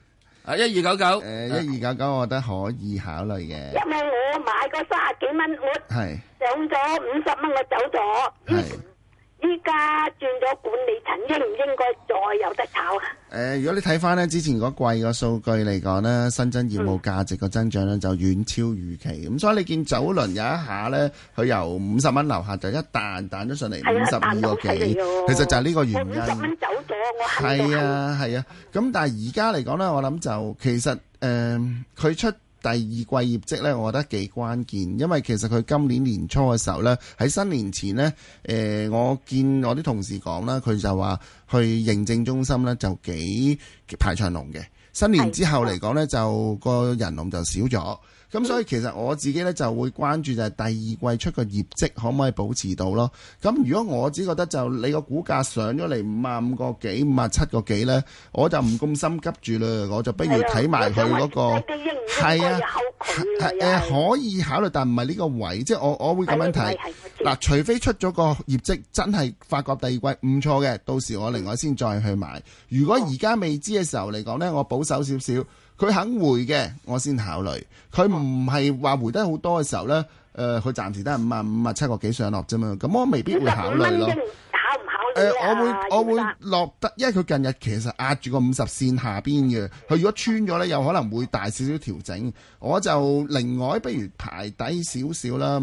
S10: ？1299。
S11: 1299，我覺得可以考慮嘅。
S1: 因為我買個30幾蚊，我上咗50蚊，我走咗。依家轉咗管理層，應唔應該再有得炒啊？
S11: 如果你睇翻呢之前嗰季個數據嚟講呢，新增業務價值個增長呢就遠超預期，咁所以你見早輪有一下呢，佢由50蚊樓下就一彈咗上嚟52個幾，其實就係呢個原因。
S1: 我50蚊走咗，我
S11: 係啊，咁但係而家嚟講呢，我諗就其實佢出第二季業績咧，我覺得幾關鍵，因為其實佢今年年初嘅時候咧，喺新年前咧，我見我啲同事講啦，佢就話去認證中心咧就幾排長龍嘅，新年之後嚟講咧就個人龍就少咗。咁所以其實我自己咧就會關注就係第二季出個業績可唔可以保持到咯。咁如果我只覺得就你個股價上咗嚟55個幾、57個幾咧，我就唔咁心急住啦，我就不如睇埋佢嗰個係啊，可以考慮，但唔係呢個位，即係我會咁樣睇嗱，除非出咗個業績真係發覺第二季唔錯嘅，到時我另外先再去買。如果而家未知嘅時候嚟講咧，我保守少少。佢肯回嘅，我先考慮。佢唔係話回得好多嘅時候咧，佢暫時都係57個幾上落啫嘛。咁我未必會考慮咯。
S1: 考唔考慮
S11: 我會落得，因為佢近日其實壓住個50線下邊嘅。佢如果穿咗咧，有可能會大少少調整。我就另外不如排低少少啦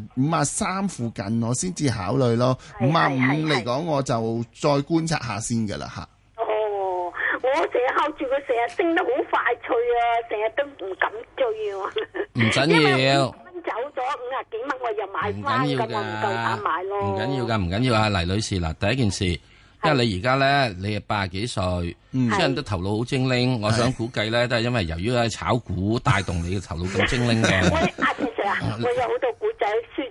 S11: ，53附近我先至考慮咯。55嚟講，我就再觀察下先㗎啦嚇。
S1: 我成日靠住佢，成日升得好快脆啊！成日都唔敢追啊！
S10: 唔緊要，
S1: 蚊走咗50幾蚊，我又買翻咁，我唔夠膽買咯。
S10: 唔緊要啊，黎女士嗱，第一件事，因為你而家咧，你係80幾歲，即係都頭腦好精靈。我想估計咧，都係因為由於喺炒股帶動你嘅頭腦咁精靈嘅。
S1: 喂，阿 Sir 啊，我有好多股仔輸咗一大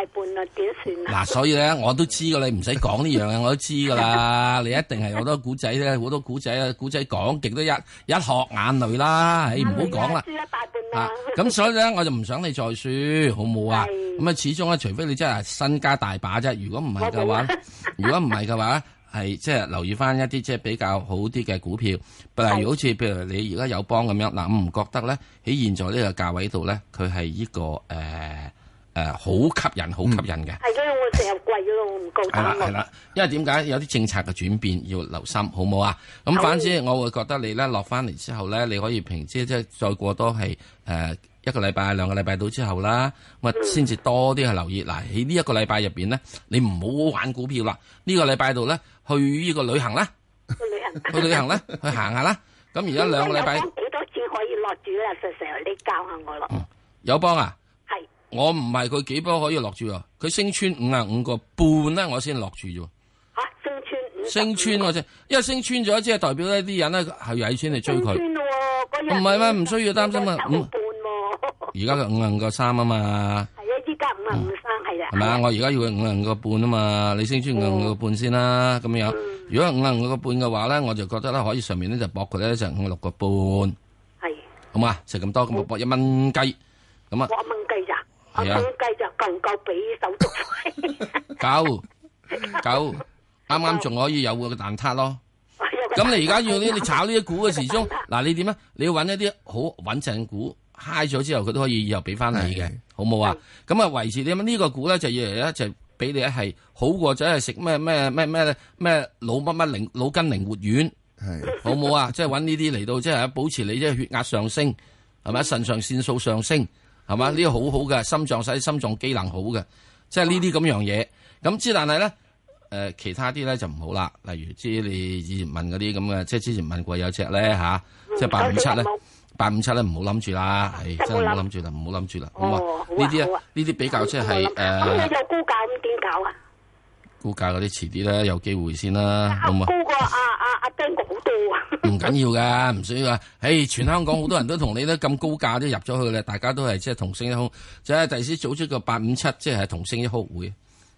S1: 半啦，點算啊？
S10: 嗱，所以咧我都知噶，你唔使講呢樣嘢，我都知噶啦。你一定係好多古仔咧，好多古仔啊，古仔講極都一殼眼淚啦，唔好講啦。輸一大半啦。咁所以咧，我就唔想你再輸，好冇啊？咁啊，始終咧，除非你真係身家大把啫。如果唔係嘅話，係即係留意翻一啲即係比較好啲嘅股票，例如好似譬如你而家友邦咁樣，嗱，我唔覺得咧喺現在呢個價位度咧，佢係呢個好吸引嘅。
S1: 係因為我成日貴咗咯，我唔夠膽。
S10: 係啦，因為點解有啲政策嘅轉變要留心，好冇啊？咁反之，我會覺得你咧落翻嚟之後咧，你可以平之即係再過多係一個禮拜、2個禮拜到之後啦，咁啊先至多啲去留意。嗱，喺呢一個禮拜入邊咧，你唔好玩股票啦。呢個禮拜度咧，去呢個旅行啦，去旅行啦，去行下啦。咁而家2個禮拜，
S1: 幾多錢可以落住咧？成你教下我咯。
S10: 友邦啊，係我唔係佢幾波可以落住啊，佢升穿55個半咧，我先落住啫。升穿我啫，因為升穿咗，即係代表呢啲人咧係有錢嚟追佢。唔係咩？唔需要擔心啊。而家佢55個3啊嘛。
S1: 係啊，依家55.3係啦。
S10: 係咪啊？我而家要佢55個半啊嘛，你升穿55個半先啦，咁樣。如果55個半嘅話咧，我就覺得咧可以上面咧就搏佢咧就56個半。係。好嘛，食咁多咁搏1蚊雞，咁啊。搏1蚊雞咋？係啊。1蚊雞就夠唔夠俾手續費？夠。啱啱仲可以有個蛋撻咯。咁你而家要你炒呢啲股嘅時鐘，嗱你點啊？你要揾一啲好穩陣股。嗨咗之後，佢都可以以後俾翻你嘅，好冇啊？咁啊維持點啊？呢個股咧就要嚟咧就俾你係好過就係食咩腦筋靈活丸，好冇啊？即係揾呢啲嚟到即係保持你即係血壓上升，係咪？腎上腺素上升，係嘛？呢個好好嘅心臟使心臟機能好嘅，即係呢啲咁樣嘢。咁之但係咧其他啲咧就唔好啦。例如知你以前問嗰啲咁嘅，即係之前問過有隻咧即係857咧。857咧唔好諗住啦，係真係唔好諗住啦，唔好諗住啦。咁啊，呢啲啊，呢啲比較即係咁你有高價咁點搞啊？高價嗰啲遲啲啦，有機會先啦。咁啊，高過阿丁哥好多啊！唔緊要噶，唔需要啊。全香港好多人都同你咧咁高價都入咗去咧，大家都係即係同聲一哭，即係第時組織個857，即係同聲一哭會。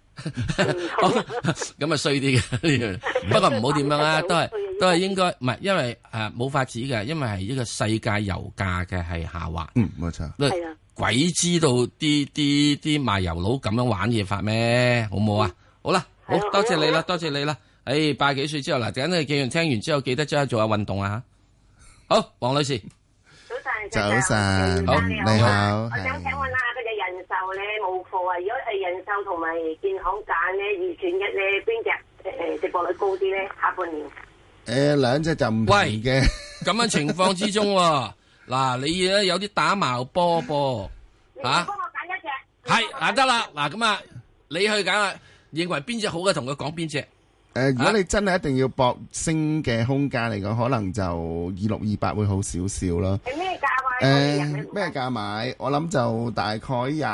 S10: 咁啊衰啲嘅，不過唔好點樣啊，都係應該唔係，因為冇法子嘅，因為係呢個世界油價嘅係下滑。
S11: 冇錯。
S1: 係啊。
S10: 鬼知道啲賣油佬咁樣玩嘢法咩？好冇啊？好啦，好多謝你啦，多謝你啦。80幾歲之後嗱，等你記完聽完之後，記得即刻做下運動啊吓。好，黃女士。
S11: 早晨，好，你好。
S2: 我想請問下嗰隻人壽咧冇貨啊？如果係人壽同埋建行揀咧2選1咧，邊隻值博率高啲咧？下半年
S11: 兩隻就唔同嘅。
S10: 咁樣情況之中，嗱你咧有啲打矛波噃吓。幫我揀一隻。係得啦，嗱咁啊，你去揀啊，認為邊隻好嘅，同佢講邊隻。
S11: 如果你真係一定要搏升嘅空間嚟講，可能就2628會好少少啦。
S2: 係咩價位？
S11: 咩價買？我諗就大概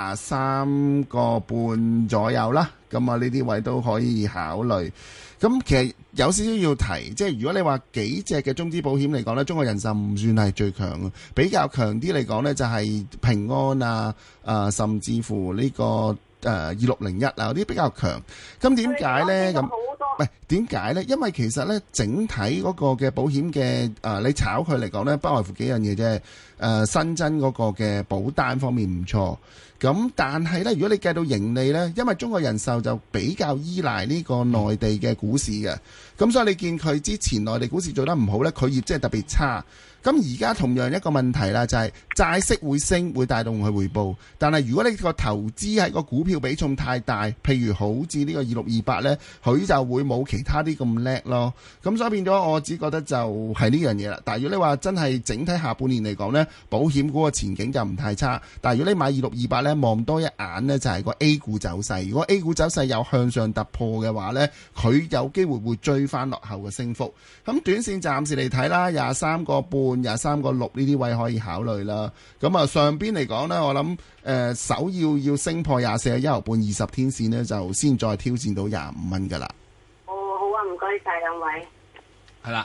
S11: 23個半左右啦。咁啊，呢啲位都可以考慮。咁其實有少少要提，即係如果你話幾隻嘅中資保險嚟講呢，中國人壽唔算係最強嘅，比較強啲嚟講呢，就係平安啊，甚至乎呢個2601啊嗰啲比較強。咁點解呢？咁喂，點解呢？因為其實呢，整體嗰個嘅保險嘅你炒佢嚟講呢，不外乎幾樣嘢啫。新增嗰個嘅保單方面唔錯。咁但係呢，如果你計到盈利呢，因為中國人壽就比較依賴呢個內地嘅股市嘅，咁所以你見佢之前內地股市做得唔好呢，佢業績係特別差。咁而家同樣一個問題啦，就係債息會升，會帶動佢回報。但係如果你個投資喺個股票比重太大，譬如好似呢個2628呢，佢就會冇其他啲咁叻咯。咁所以變咗，我只覺得就係呢樣嘢啦。但係如果你話真係整體下半年嚟講呢，保險股個前景就唔太差。但係如果你買2628呢，望多一眼呢，就係個 A 股走勢。如果 A 股走勢有向上突破嘅話呢，佢有機會會追翻落後嘅升幅。咁短線暫時嚟睇啦，23個半、23個6呢啲位可以考慮啦。咁啊上邊嚟講呢，我諗首要升破24個1毫半20天線呢，就先再挑戰到25蚊噶啦。
S2: 哦，好啊，唔該晒兩位。
S10: 係啦，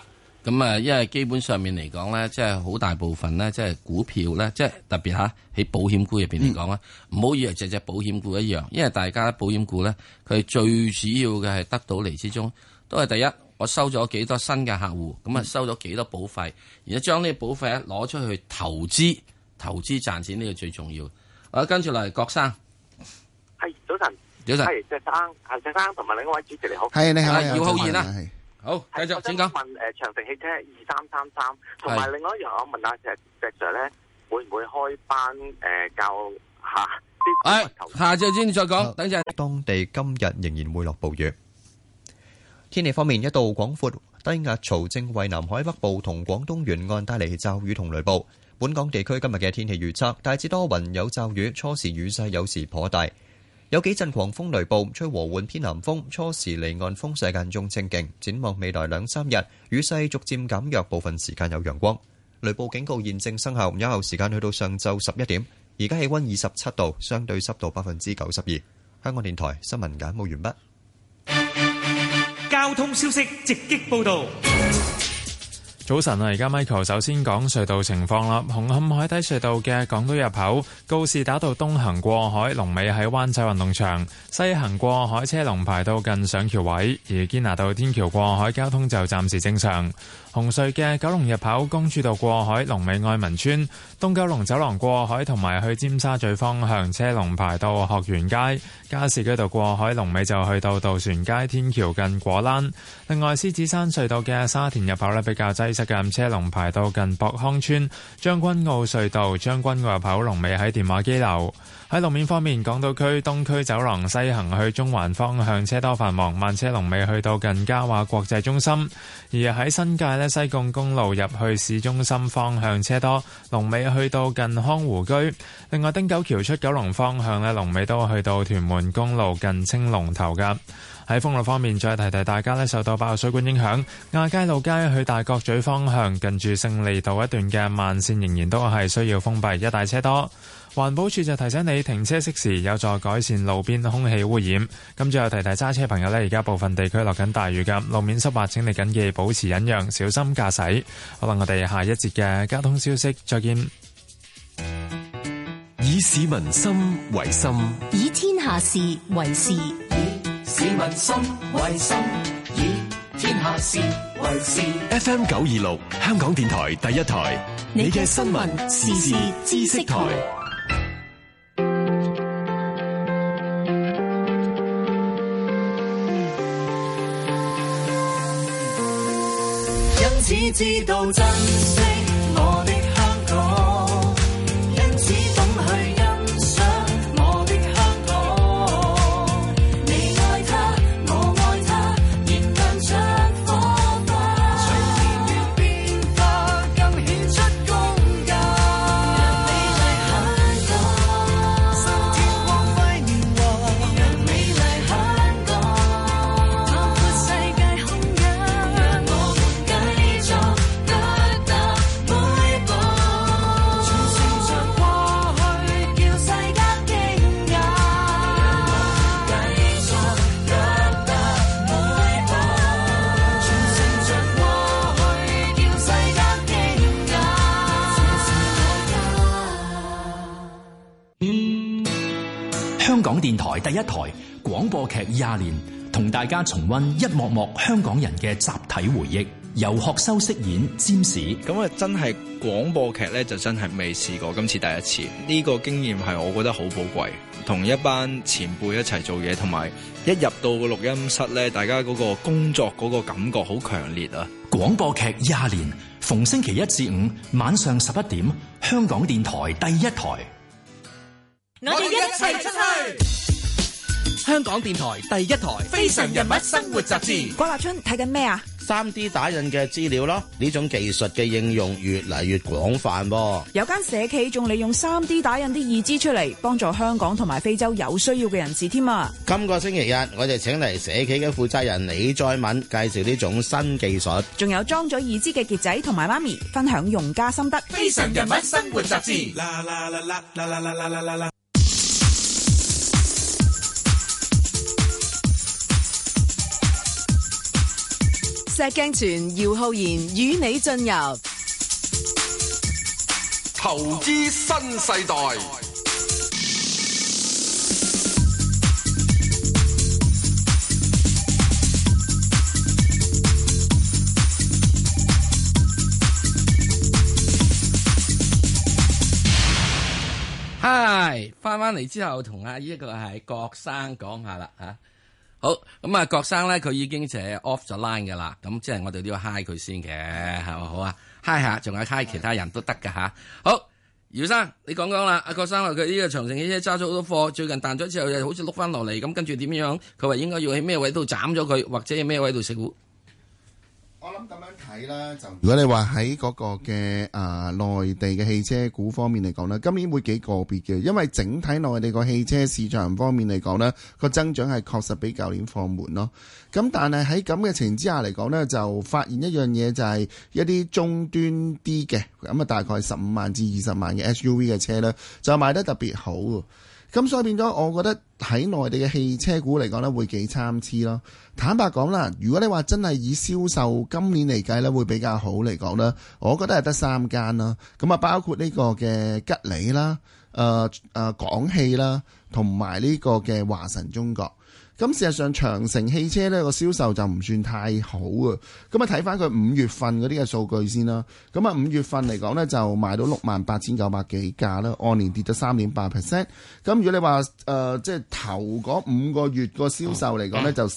S10: 咁啊，因為基本上面嚟講咧，即係好大部分咧，即係股票咧，即係特別喺保險股入邊嚟講咧，唔好以為隻保險股一樣，因為大家保險股咧，佢最主要嘅係得到嚟之中，都係第一，我收咗幾多新嘅客戶，咁啊收咗幾多保費，然後將呢個保費咧攞出去投資賺錢，呢個最重要。好，跟住嚟，郭生，
S3: 係早晨，係石生同埋另一位主持你好，
S11: 係你好，
S10: 姚浩然啊，好，繼續請講。
S3: 問長城汽車2333，同埋另外一樣，我問下石 Sir 咧，會唔會開班教下？
S10: 下晝先再講，等陣。
S14: 當地今日仍然會落暴雨。天氣方面，一道廣闊低壓槽正為南海北部同廣東沿岸帶嚟驟雨同雷暴。本港地區今日嘅天氣預測大致多雲有驟雨，初時雨勢有時頗大，有幾陣狂風雷暴，吹和緩偏南風，初時離岸風勢間中清勁。展望未來2-3日，雨勢逐漸減弱，部分時間有陽光。雷暴警告現正生效，有效時間去到上晝11點。而家氣溫27度，相對濕度92%。香港電台新聞簡報完畢。
S13: 交通消息直擊報道。
S15: 早晨啊，而家 Michael 首先講隧道情況啦。紅磡海底隧道嘅港島入口告士打道東行過海，龍尾喺灣仔運動場；西行過海車龍排到近上橋位。而堅拿道天橋過海交通就暫時正常。紅隧嘅九龍入口公主道過海，龍尾愛民村；東九龍走廊過海同埋去尖沙咀方向車龍排到學園街。加士居道過海龍尾就去到渡船街天橋近果欄。另外，獅子山隧道嘅沙田入口呢比較擠塞嘅，車龍排到近博康村。將軍澳隧道將軍澳入口龍尾喺電話機樓。喺路面方面，港島區東區走廊西行去中環方向車多繁忙，慢車龍尾去到近嘉華國際中心。而喺新界呢，西貢公路入去市中心方向車多，龍尾去到近康湖居。另外，汀九橋出九龍方向呢，龍尾都去到屯門公路近青龍頭㗎。喺封路方面，再提提大家呢，受到爆水管影響，亞皆老街去大角咀方向近住勝利道一段嘅慢線仍然都係需要封閉，一帶車多。環保署就提醒你停車熄匙，有助改善路邊空氣污染。咁最後提提揸車朋友呢，而家部分地區落緊大雨㗎，路面濕滑，請你緊記保持忍讓，小心駕駛。好啦，我哋下一節嘅交通消息再見。
S16: 以市民心為心，
S17: 以天下事為事。
S4: 以市民心為心，以天下事為事。
S16: FM 926香港電台第一台，你嘅新聞時事知識台。
S4: 因此知道珍惜我的香港，因此懂去欣賞我的香港。你愛它，我愛它，燃亮着火花。隨年月變化，更顯出功架。讓美麗香港，新天光輝年華。讓美麗香港，擴闊世界空間。讓我們繼續腳踏每步，傳承着過去，叫世間驚訝。讓我們繼續腳踏每步，傳承着過去，叫世間驚訝。
S13: 香港電台第一台廣播劇20年，同大家重溫一幕幕香港人嘅集體回憶。由學修飾演占士。
S19: 咁啊，真係廣播劇咧，就真係未試過，今次第一次。呢個經驗係我覺得好寶貴，同一班前輩一齊做嘢，同埋一入到個錄音室咧，大家嗰個工作嗰個感覺好強烈啊！
S13: 廣播劇20年，逢星期1至5晚上11點，香港電台第一台。
S4: 我哋一齊出去！
S21: 香港電台第一台
S4: 非常人物生活雜誌。
S24: 郭立春睇緊咩啊
S25: ？3D 打印嘅資料咯，呢種技術嘅應用越嚟越廣泛噃。
S24: 有間社企仲利用 3D 打印啲義肢出嚟，幫助香港同埋非洲有需要嘅人士添啊！
S25: 今個星期日，我哋請嚟社企嘅負責人李在敏介紹呢種新技術。
S24: 仲有裝咗義肢嘅傑仔同埋媽咪分享用家心得。
S4: 非常人物生活雜誌。
S9: 石鏡泉姚浩然與你進入
S23: 投資新世代。
S10: 嗨，翻嚟之後同阿呢個係郭生講下啦吓。好，咁啊，郭生咧佢已經就係 off 咗 line 噶啦，咁即係我哋都要 hi 佢先嘅，係咪好啊 ？hi 下，仲有 hi 其他人都得噶吓。好，姚生你講講啦，阿郭生話佢呢個長城汽車揸咗好多貨，最近彈咗之後又好似碌翻落嚟，咁跟住點樣？佢話應該要喺咩位度斬咗佢，或者喺咩位度食糊？
S11: 我諗咁樣睇啦，就如果你話喺嗰個嘅內地嘅汽車股方面嚟講呢，今年會幾個別嘅，因為整體內地個汽車市場方面嚟講呢，個增長係確實比舊年放緩咯。咁但係喺咁嘅情形之下嚟講呢，就發現一樣嘢就係一啲中端啲嘅，咁啊大概15萬至20萬嘅 SUV 嘅車呢，就賣得特別好。咁所以變咗，我覺得喺內地嘅汽車股嚟講呢，會幾參差咯。坦白講啦，如果你話真係以銷售今年嚟計呢，會比較好嚟講呢，我覺得係得3間啦。咁啊，包括呢個嘅吉利啦、廣汽啦，同埋呢個嘅華晨中國。咁事實上長城汽車呢個銷售就唔算太好啊。咁啊睇翻佢5月份嗰啲嘅數據先啦。咁啊5月份嚟講呢，就賣到68,900幾架啦，按年跌咗3.8%。咁如果你話即係頭嗰5個月個銷售嚟講呢，就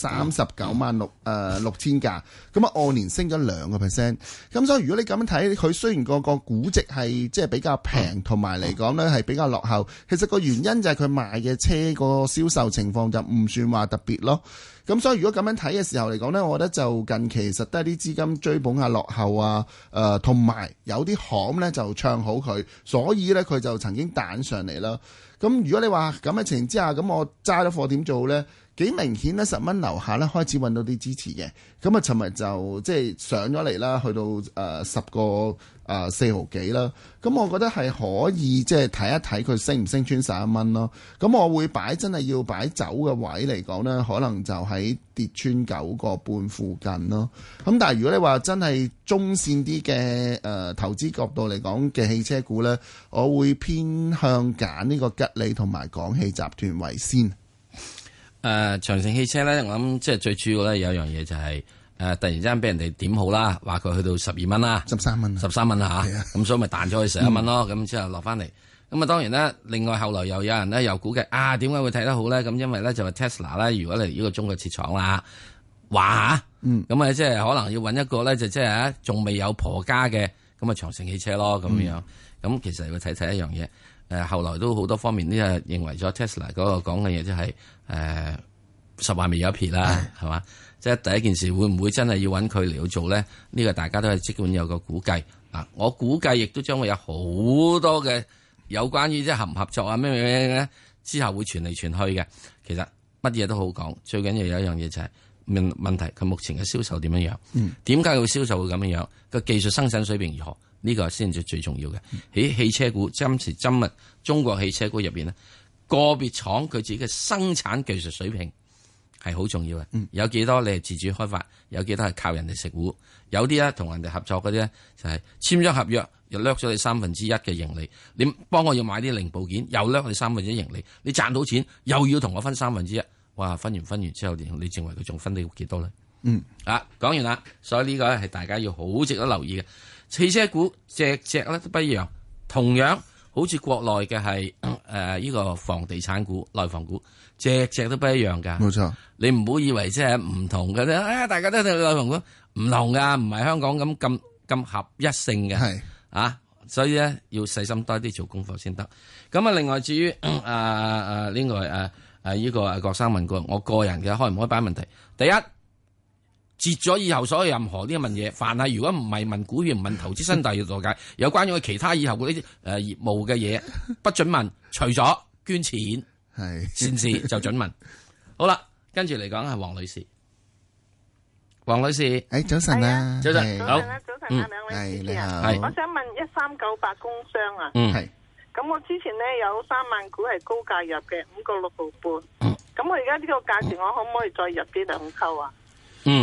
S11: 396000架，咁啊按年升咗2%。咁所以如果你咁樣睇，佢雖然個估值係即係比較平，同埋嚟講呢係比較落後，其實個原因就係佢賣嘅車個銷售情況就唔算話特別咯。咁所以如果咁樣睇嘅時候嚟講呢，我覺得就近期實得啲資金追捧下落後啊，同埋有啲行呢就唱好佢，所以呢，佢就曾經彈上嚟啦。咁如果你話咁嘅情形之下，咁我揸咗貨點做呢？幾明顯呢，10蚊樓下呢開始揾到啲支持嘅。咁啊，尋日就即係上咗嚟啦，去到10個4毫幾啦。咁我覺得係可以即係睇一睇佢升唔升穿11蚊咯。咁我會擺真係要擺走嘅位嚟講呢，可能就喺跌穿9個半附近咯。咁但係如果你話真係中線啲嘅投資角度嚟講嘅汽車股呢，我會偏向揀呢個吉利同埋廣汽集團為先。
S10: 長城汽車咧，我諗即係最主要咧有一樣嘢就係突然之間俾人哋點好啦，話佢去到12蚊啦
S11: ，13蚊
S10: 啦嚇，咁所以咪彈咗去11蚊咯，咁之後落翻嚟。咁啊當然咧，另外後來又有人咧又估計點解會睇得好咧？咁因為咧就話 Tesla 咧，如果嚟呢個中國設廠啦，話咁啊即係可能要揾一個咧就即係仲未有婆家嘅咁啊長城汽車咯咁樣。咁其實要睇睇一樣嘢。後來都好多方面呢，認為咗 Tesla 嗰個講嘅嘢，即係實話未有一撇啦，係嘛？即係第一件事會唔會真係要揾佢嚟去做咧？呢個大家都係即管有個估計。我估計亦都將會有好多嘅有關於即係合唔合作啊咩咧，之後會傳嚟傳去嘅。其實乜嘢都好講，最緊要有一樣嘢就係問題，佢目前嘅銷售點樣樣？點解佢銷售會咁樣樣？個技術生產水平如何？呢個先至最重要嘅。喺汽車股今時今日，中國汽車股入邊呢，個別廠佢自己嘅生產技術水平係好重要嘅。有幾多你係自主開發，有幾多係靠人哋食糊。有啲咧同人哋合作嗰啲咧就係簽咗合約，又掠咗你1/3嘅盈利。你幫我要買啲零部件，又掠你1/3盈利。你賺到錢又要同我分1/3。哇！分完之後，你認為佢仲分你幾多咧？講完啦。所以呢個咧係大家要好值得留意嘅。汽車股隻咧都不一樣，同樣好似國內嘅係呢個房地產股、內房股，隻都不一樣噶。
S11: 冇錯，
S10: 你唔好以為即係唔同嘅啫。大家都係內房股，唔同噶，唔係香港咁合一性嘅。係所以咧要細心多啲做功課先得。咁另外至於呢個郭生問過我個人嘅開唔開擺問題，第一。截咗以後所有任何啲問嘢，凡係如果唔係問股票、唔問投資新大業度解，有關於其他以後嗰啲業務嘅嘢，不准問。除咗捐錢係先至就准問。好啦，跟住嚟講係黃女士。黃女士，
S11: 早晨啊，
S10: 早晨，
S5: 好，早晨啊，兩位主持人，我想問1398工商啊，
S11: 係。
S5: 咁我之前咧有3萬股係高價入嘅，5個6毫半。咁我而家呢個價錢，我可唔可以再入啲兩溝啊？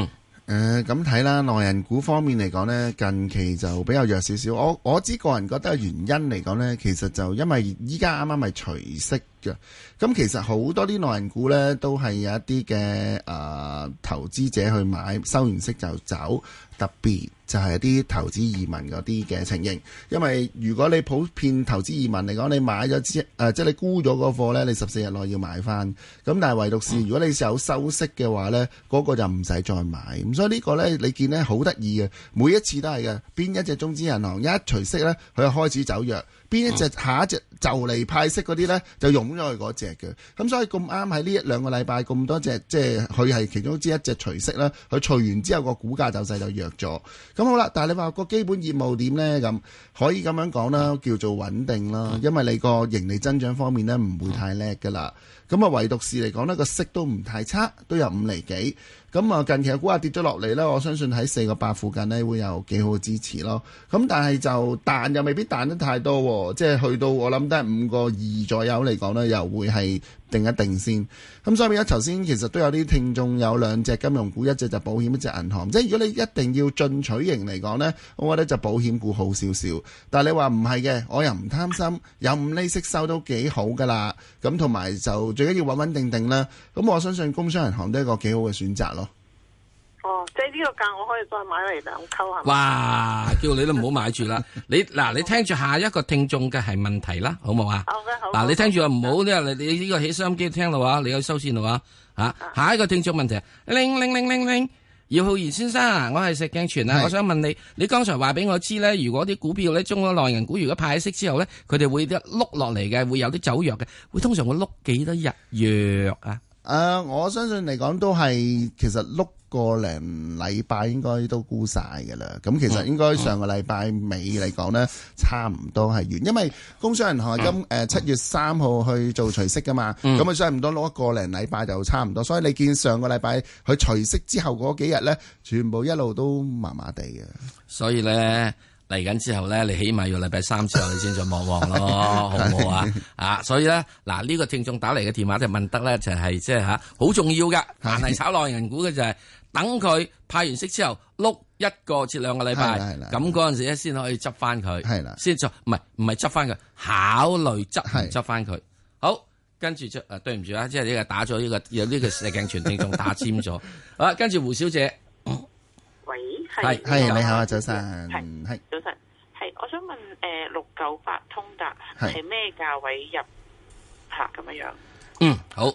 S11: 咁睇啦，內銀股方面嚟講呢，近期就比較弱少少。我只個人覺得原因嚟講呢，其實就因為依家啱啱係除息嘅，咁其實好多啲內銀股呢，都係有一啲嘅投資者去買，收完息就走，特別就係一啲投資移民嗰啲嘅情形。因為如果你普遍投資移民嚟講，你買咗即係你沽咗嗰貨呢，你14日內要買翻。咁但係唯獨是如果你有收息嘅話呢，嗰個就唔使再買。咁所以呢個呢，你見呢好得意嘅，每一次都係嘅。邊一隻中資銀行一除息呢，佢就開始走弱；邊一隻下一隻就嚟派息嗰啲呢，就湧咗去嗰隻嘅。咁所以咁啱喺呢1、2個禮拜咁多隻，即係佢係其中之一隻除息啦。佢除完之後個股價走勢就弱咗。咁好啦，但係你話個基本業務點呢？咁可以咁樣講啦，叫做穩定啦。因為你個盈利增長方面呢，唔會太叻噶啦。咁啊，唯獨是嚟講呢，個息都唔太差，都有5厘幾。咁啊，近期嘅股價跌咗落嚟呢，我相信喺4個8附近呢會有幾好嘅支持咯。咁但係就彈又未必彈得太多喎，即係去到我諗都係5個2左右嚟講呢，又會係定一定先。咁所以變咗頭先其實都有啲聽眾有2隻金融股，一隻就保險，一隻銀行。即係如果你一定要進取型嚟講呢，我覺得就保險股好少少。但係你話唔係嘅，我又唔貪心，有5厘息收都幾好噶啦。咁同埋就最緊要穩穩定定啦。咁我相信工商銀行都係一個幾好嘅選擇咯。
S5: 哦，即係呢個價我可以再買嚟2溝係咪？
S10: 哇！叫你都唔好買住啦。你聽住下一個聽眾嘅係問題啦，好冇啊？
S5: 好嘅，好。
S10: 嗱，你聽住啊，唔好你呢個起收音機聽到話，你有收線到話嚇。下一個聽眾問題，铃，姚浩然先生啊，我係石鏡泉啊，我想問你，你剛才話俾我知咧，如果啲股票咧，中咗內銀股，如果派息之後咧，佢哋會一碌落嚟嘅，會有啲走弱嘅，會通常會碌幾多日弱啊？
S11: 我相信嚟講都係其實碌個零禮拜應該都沽晒㗎啦。咁其實應該上個禮拜尾嚟講呢，差唔多係完，因為工商銀行係7月3號去做除息㗎嘛。咁差唔多攞個零禮拜就差唔多。所以你見上個禮拜佢除息之後嗰幾日呢，全部一路都麻麻地嘅。
S10: 所以呢。嚟緊之後咧，你起碼要禮拜3之後你先再望望咯，好唔好啊？所以咧，嗱呢個聽眾打嚟嘅電話就問得咧，就係即係好重要㗎。但係炒內銀股嘅就係等佢派完息之後碌1個至2個禮拜，咁嗰陣時咧先可以執翻佢，先再唔係執翻佢，考慮執翻佢。好，跟住對唔住啊，即係呢個打咗呢個有呢個石鏡泉聽眾打尖咗。好啦，跟住胡小姐。
S5: 喂，
S11: 係你好啊，早晨，
S5: 係早晨，係我想問698通達係咩價位入咁樣？
S10: 好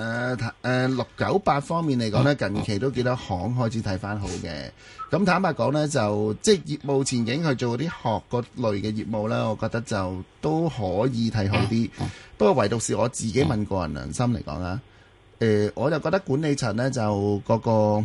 S11: ，698方面嚟講呢，近期都幾多行開始睇翻好嘅。咁坦白講呢，就即係業務前景去做啲學嗰類嘅業務呢，我覺得就都可以睇好啲。不過唯獨是我自己問個人良心嚟講啊，我就覺得管理層呢，就嗰個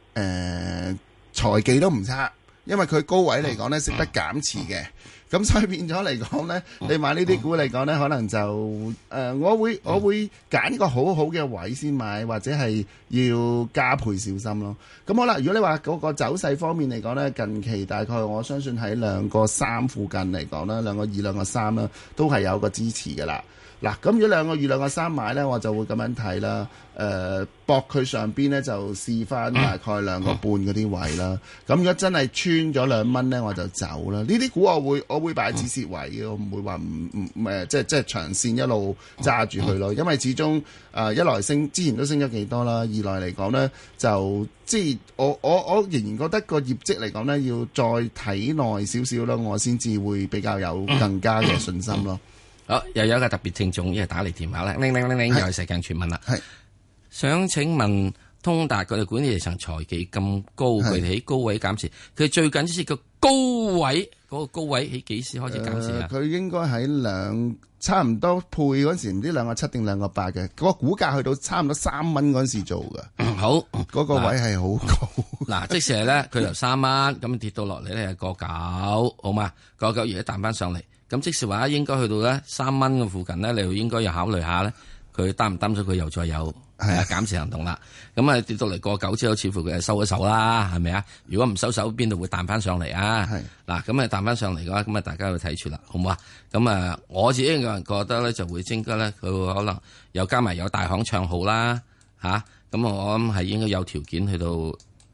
S11: 財技都唔差，因為佢高位嚟講呢，識得減持嘅，咁所以變咗嚟講呢，你買呢啲股嚟講呢，可能就我會揀一個好好嘅位先買，或者係要加倍小心咯。咁好啦，如果你話嗰個走勢方面嚟講呢，近期大概我相信喺2個3附近嚟講啦，2個2、2個3啦，都係有個支持㗎啦。嗱，咁如果2個2、2個3買呢，我就會咁樣睇啦。搏佢上邊呢，就試翻大概2個半嗰啲位啦。咁如果真係穿咗2蚊呢，我就走啦。呢啲股我會擺止蝕位嘅，我唔會話即係長線一路揸住佢咯。因為始終一來之前都升咗幾多啦，二來嚟講呢，就即係我仍然覺得個業績嚟講呢，要再睇耐少少啦，我先至會比較有更加嘅信心咯。
S10: 好，又有一個特別聽眾，因為打嚟電話啦，鈴，又係石鏡泉問啦，想請問通達佢哋管理層財技咁高，佢哋喺高位減持，佢最近是個高位，嗰個高位喺幾時開始減持啊？
S11: 佢應該喺差唔多配嗰陣時，唔知2個7定2個8嘅，嗰個股價去到差唔多3蚊嗰陣時做嘅。
S10: 好，
S11: 嗰個位係好高。
S10: 嗱，即時係咧，佢由3蚊咁跌到落嚟咧係個9，好嘛？個9而家彈翻上嚟。咁即時話應該去到咧3蚊嘅附近咧，你應該要考慮下咧，佢擔唔擔咗佢又再有減持行動啦。咁啊跌到嚟個9之後，似乎佢係收咗手啦，係咪啊？如果唔收手，邊度會彈翻上嚟啊？嗱，咁啊彈翻上嚟嘅話，咁啊大家要睇住啦，好唔好啊？咁啊，我自己個人覺得咧，就會應該咧，佢可能又加埋有大行唱好啦，咁我諗係應該有條件去到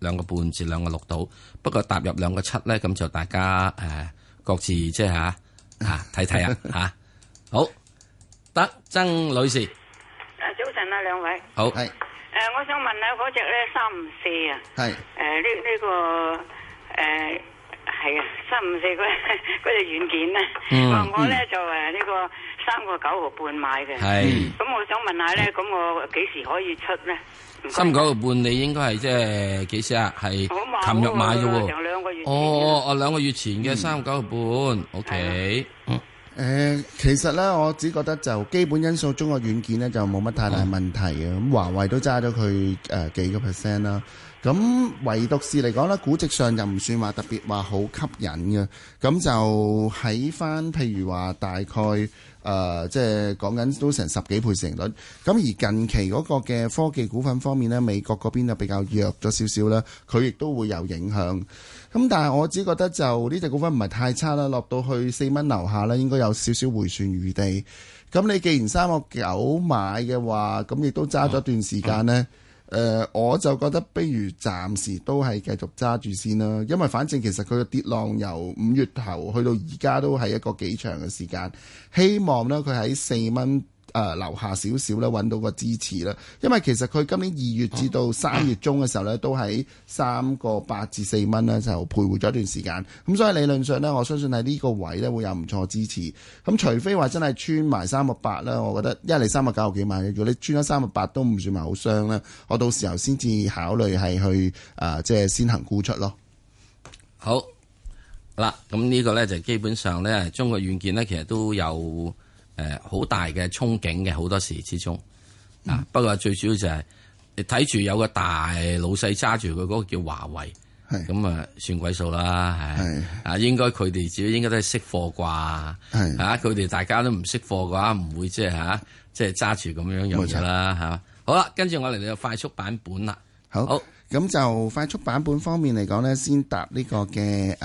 S10: 2個半至2個6度，不過踏入2個7咧，咁就大家各自即係睇睇啊好，得曾女士，
S6: 早晨啊，兩位
S10: 好
S6: 係我想問下嗰隻咧354啊，係呢個係啊354嗰隻軟件咧，我咧就呢個3個9毫半買嘅，係咁我想問下咧，咁我幾時可以出咧？3個9毫半你應該係即係幾時啊？係琴日買嘅喎，成2個月前。哦，2個月前嘅3個9毫半，OK。
S11: 其實咧，我只覺得就基本因素中國軟件咧就冇乜太大問題嘅。咁華為都揸咗佢幾個 percent 啦。咁唯獨是嚟講咧，估值上就唔算話特別話好吸引嘅。咁就喺翻譬如話大概即係講緊都成10幾倍市盈率。咁而近期嗰個嘅科技股份方面咧，美國嗰邊就比較弱咗少少啦，佢亦都會有影響。咁但係我只覺得就呢隻股份唔係太差啦，落到去4蚊樓下啦，應該有少少回旋餘地。咁你既然3個9買嘅話，咁亦都揸咗段時間呢。我就覺得不如暫時都係繼續揸住先啦，因為反正其實佢嘅跌浪由5月頭去到而家都係一個幾長嘅時間，希望呢，佢喺4蚊樓下少少咧揾到個支持啦，因為其實佢今年2月至到3月中嘅時候咧，都喺3個8至4蚊咧就徘徊咗一段時間，咁所以理論上咧，我相信喺呢個位咧會有唔錯支持。咁除非話真係穿埋3個8啦，我覺得因為你3個9毫幾買嘅，如果你穿咗3個8都唔算係好傷啦，我到時候先至考慮係去即係先行沽出咯。
S10: 好嗱，咁呢個咧就基本上咧，中國軟件咧其實都有好大嘅憧憬嘅，好多時之中不過最主要就係你睇住有個大老細揸住佢嗰個叫華為，咁算鬼數啦，係應該佢哋自己應該都係識貨啩，佢哋大家都唔識貨嘅話，唔會即係揸住咁樣樣啦，好啦，跟住我嚟到快速版本啦，好。
S11: 咁就快速版本方面嚟講呢，先搭呢個嘅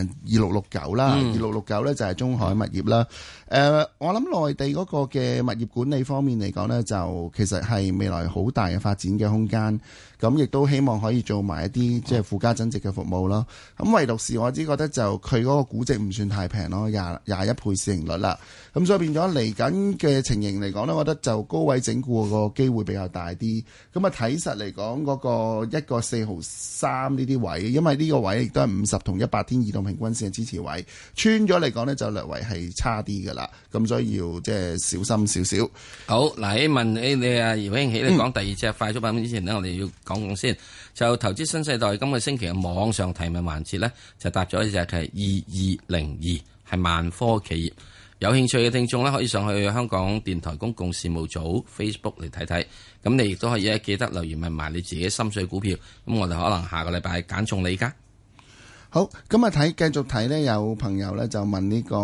S11: 2669啦，2669呢就係中海物業啦。我諗內地嗰個嘅物業管理方面嚟講呢，就其實係未來好大嘅發展嘅空間。咁亦都希望可以做埋一啲即係附加增值嘅服務咯。咁唯獨是我只覺得就佢嗰個估值唔算太平咯，21倍市盈率啦。咁所以變咗嚟緊嘅情形嚟講呢，我覺得就高位整固個機會比較大啲。咁睇實嚟講嗰個1個4毫3呢啲位，因為呢個位亦都係50同100天移動平均線嘅支持位，穿咗嚟講呢，就略為係差啲噶啦。咁所以要即係小心少少。
S10: 好嗱，問你啊姚興起，你講第二隻快速版本之前呢，我哋要講先，就投資新世代今個星期嘅網上提問環節呢，就答咗一隻係2202，係萬科企業。有興趣嘅聽眾呢，可以上去香港電台公共事務組 Facebook 嚟睇睇。咁你亦都可以記得留言問埋你自己心水股票。咁我哋可能下個禮拜揀中你㗎。
S11: 好，咁繼續睇呢，有朋友呢就問呢個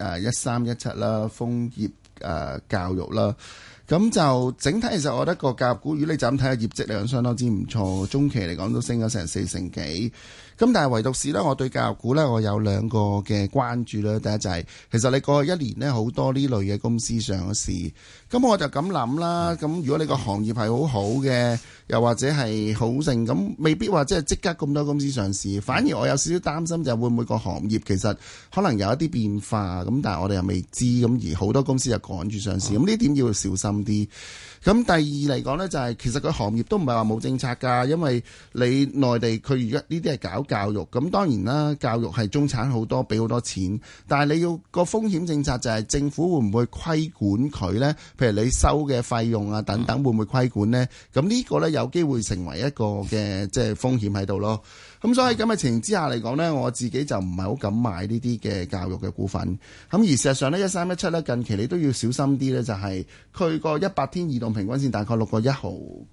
S11: 1317啦，楓葉教育啦。咁就整體其實我覺得個教育股，如果你就咁睇下業績嚟講，相當之唔錯，中期嚟講都升咗成4成幾。咁但係唯獨是呢，我對教育股呢，我有2個嘅關注啦。第一就係其實你過去1年呢，好多呢類嘅公司上咗市，咁我就咁諗啦。咁如果你個行業係好好嘅，又或者係好盛，咁未必話即刻咁多公司上市。反而我有少少擔心就會唔會個行業其實可能有一啲變化，咁但係我哋又未知，咁而好多公司就趕住上市，咁呢點要小心啲。咁第二嚟講呢，就係其實個行業都唔係話冇政策㗎，因為你內地佢而家呢啲係搞教育，咁當然啦，教育係中產好多，俾好多錢，但係你要個風險政策就係政府會唔會規管佢呢？譬如你收嘅費用啊等等，會唔會規管呢？咁呢個呢，有機會成為一個嘅即係風險喺度咯。咁所以咁嘅情形之下嚟講呢，我自己就唔係好敢買呢啲嘅教育嘅股份。咁而事實上呢，1317呢，近期你都要小心啲呢，就係佢個100天移動平均線大概6個1毫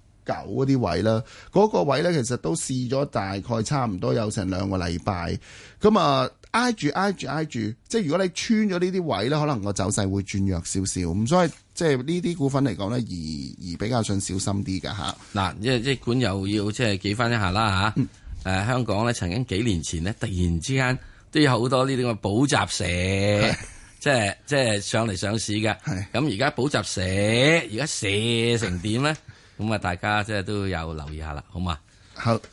S11: 9嗰啲位啦，嗰個位呢，其實都試咗大概差唔多有成2個禮拜。咁挨住，即係如果你穿咗呢啲位呢，可能個走勢會轉弱少少。咁所以即係呢啲股份嚟講呢，而比較想小心啲㗎嚇。嗱，
S10: 即管又要即係記翻一下啦嚇。香港咧曾經幾年前咧，突然之間都有好多呢啲咁嘅補習社，即係上嚟上市嘅。咁而家補習社而家寫成點咧？咁大家即係都有留意下啦，好嘛？好。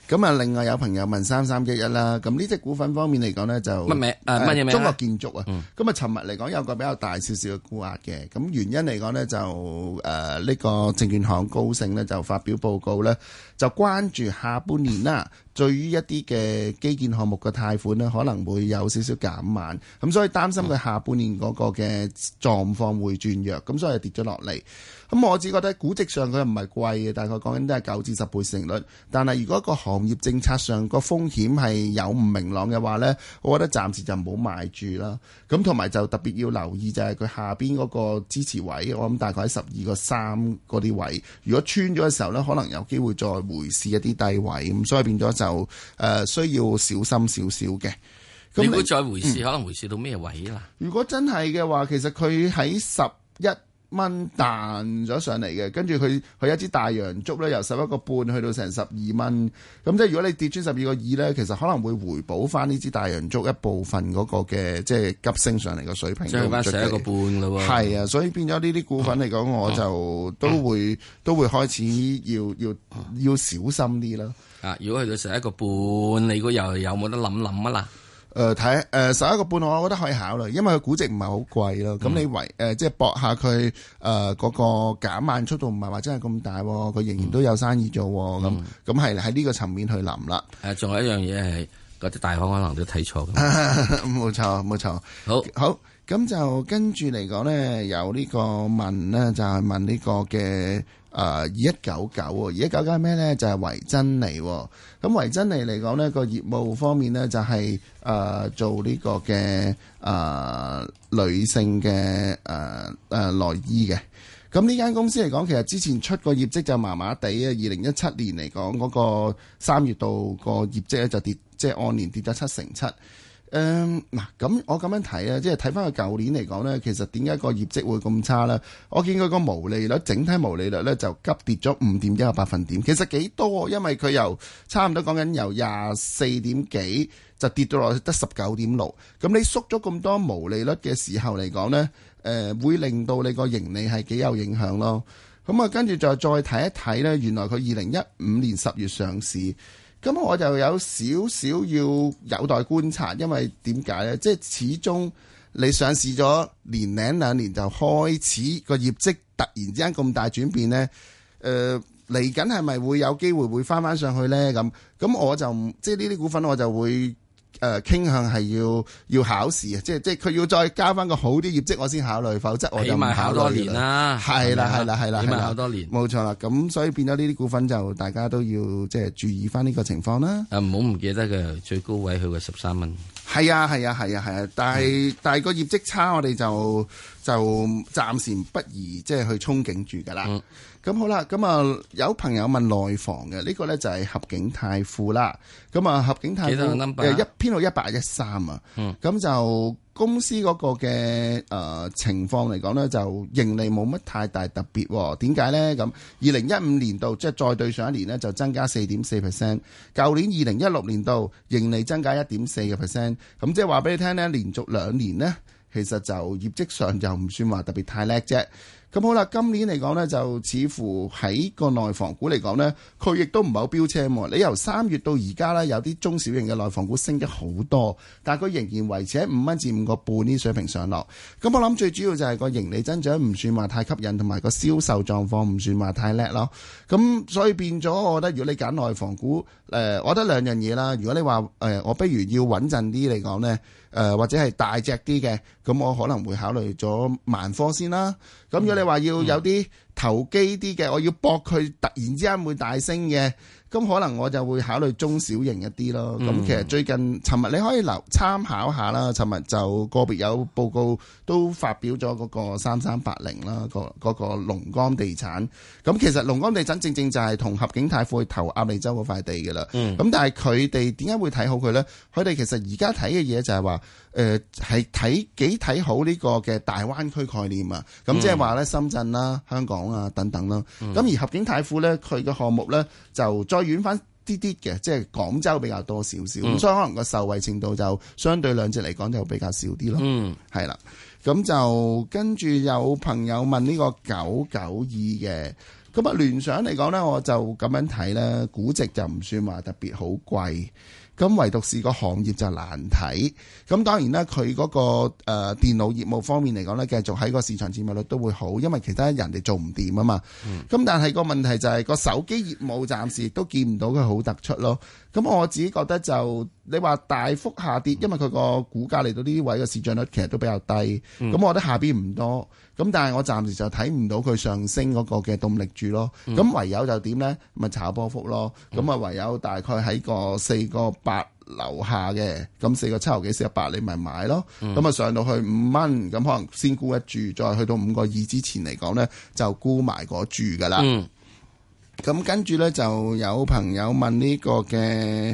S11: 咁啊，另外有朋友問3311啦，咁呢隻股份方面嚟講呢，就
S10: 乜名乜嘢名？
S11: 中國建築啊。咁啊，尋日嚟講有個比較大少少嘅沽壓嘅，咁原因嚟講呢，就呢個證券行高盛呢，就發表報告呢，就關注下半年啦，對於一啲嘅基建項目嘅貸款呢，可能會有少少減慢，咁所以擔心佢下半年嗰個嘅狀況會轉弱，咁所以跌咗落嚟。咁我只覺得估值上佢唔係貴嘅，大概講緊都係9至10倍市盈率。但係如果個行業政策上個風險係有唔明朗嘅話呢，我覺得暫時就唔好買住啦。咁同埋就特別要留意就係佢下邊嗰個支持位，我諗大概喺12.3嗰啲位。如果穿咗嘅時候呢，可能有機會再回試一啲低位，咁所以變咗就需要小心少少嘅。
S10: 你會再回試，可能回試到咩位啦？
S11: 如果真係嘅話，其實佢喺11蚊彈咗上嚟嘅，跟住佢一支大陽燭咧，由11.5去到成12蚊，咁即係如果你跌穿12.2咧，其實可能會回補翻呢支大陽燭一部分嗰個嘅即係急升上嚟嘅水平，
S10: 即係翻11.5咯喎。
S11: 係啊，所以變咗呢啲股份嚟講，我就都會開始要小心啲啦。
S10: 啊，如果去到11.5，你估又有冇得諗啊啦？
S11: 睇11.5，我覺得可以考慮，因為佢估值唔係好貴咯。咁你即係搏下佢嗰個減慢速度唔係話真係咁大，佢仍然都有生意做。咁係喺呢個層面去諗啦。
S10: 仲有一樣嘢係嗰啲大行可能都睇錯。
S11: 冇錯。好，咁就跟住嚟講咧，有呢個問呢，就係問呢個嘅2199係咩咧？就係維珍妮。咁維珍妮嚟講呢個業務方面呢，就係做呢個嘅女性嘅內衣嘅。咁呢間公司嚟講，其實之前出個業績就麻麻地啊。2017年嚟講嗰個3月度個業績咧就跌，即係按年跌咗7.7%。嗱，咁我咁樣睇啊，即係睇翻佢舊年嚟講呢，其實點解個業績會咁差呢？我見佢個毛利率，整體毛利率呢就急跌咗5.1個百分點，其實幾多？因為佢由差唔多講緊由24點幾就跌到落去得19.6，咁你縮咗咁多毛利率嘅時候嚟講呢，會令到你個盈利係幾有影響咯。咁啊，跟住再睇一睇呢，原來佢2015年10月上市。咁我就有少少要有待觀察，因為點解呢？即係始終你上市咗年零2年就開始個業績突然之間咁大轉變呢，嚟緊係咪會有機會會翻上去呢？咁我就即係呢啲股份我就會傾向係要考試啊！即係佢要再加翻個好啲業績，我先考慮，否則我就唔考慮。起碼考多年啦，係啦，起碼考多年，冇錯啦。咁所以變咗呢啲股份就大家都要即係注意翻呢個情況啦。
S10: 唔好唔記得嘅最高位去過13蚊。
S11: 係啊，但係個業績差，我哋就暫時不宜即係去憧憬住噶啦。咁好啦，咁啊有朋友問內房嘅呢個咧就係合景泰富啦。咁啊合景泰富編號1813啊。咁就公司嗰個嘅情況嚟講咧，就盈利冇乜太大特別。點解咧？咁2015年度即係再對上一年咧就增加4.4%，舊年2016年度盈利增加1.4%。咁即係話俾你聽咧，連續2年呢，其實就業績上就唔算話特別太叻啫。咁好啦，今年嚟講呢，就似乎喺個內房股嚟講呢，佢亦都唔係好飆車喎。你由3月到而家呢，有啲中小型嘅內房股升咗好多，但係佢仍然維持喺5蚊至5個半呢水平上落。咁我諗最主要就係個盈利增長唔算話太吸引，同埋個銷售狀況唔算話太叻咯。咁所以變咗，我覺得如果你揀內房股，我覺得兩樣嘢啦。如果你話我不如要穩陣啲嚟講呢，或者係大隻啲嘅，咁我可能會考慮咗萬科先啦。咁如果你話要有啲投機啲嘅，我要搏佢突然之間會大升嘅，咁可能我就會考慮中小型一啲咯。咁其實最近尋日你可以參考下啦。尋日就個別有報告都發表咗嗰個3380啦，嗰個龍崗地產。咁其實龍崗地產正正就係同合景泰富去投鴨脷洲嗰塊地嘅啦。咁但係佢哋點解會睇好佢呢？佢哋其實而家睇嘅嘢就係話，係幾睇好呢個嘅大灣區概念啊。咁即係話咧，深圳啦、香港啊等等啦。咁而合景泰富咧，佢嘅項目咧就再遠翻啲嘅，即係廣州比較多少少。咁所以可能個受惠程度就相對兩隻嚟講就比較少啲咯。係啦。咁就跟住有朋友問呢個992嘅。咁咁啊，聯想嚟講呢，我就咁樣睇呢，估值就唔算話特別好貴。咁唯獨是個行業就難睇，咁當然啦，佢嗰個電腦業務方面嚟講呢，繼續喺個市場佔有率都會好，因為其他人哋做唔掂啊嘛。咁但係個問題就係個手機業務暫時亦都見唔到佢好突出咯。咁我自己覺得就你話大幅下跌，因為佢個股價嚟到呢啲位嘅市漲率其實都比較低。咁我覺得下邊唔多，咁但係我暫時就睇唔到佢上升嗰個嘅動力住咯。咁唯有就點呢？咪炒波幅咯。咁啊唯有大概喺個4.8樓下嘅，咁4.7毫幾4.8你咪買咯。咁啊上到去5蚊，咁可能先沽一注，再去到5.2之前嚟講呢，就沽埋個注噶啦。咁跟住呢，就有朋友問呢個嘅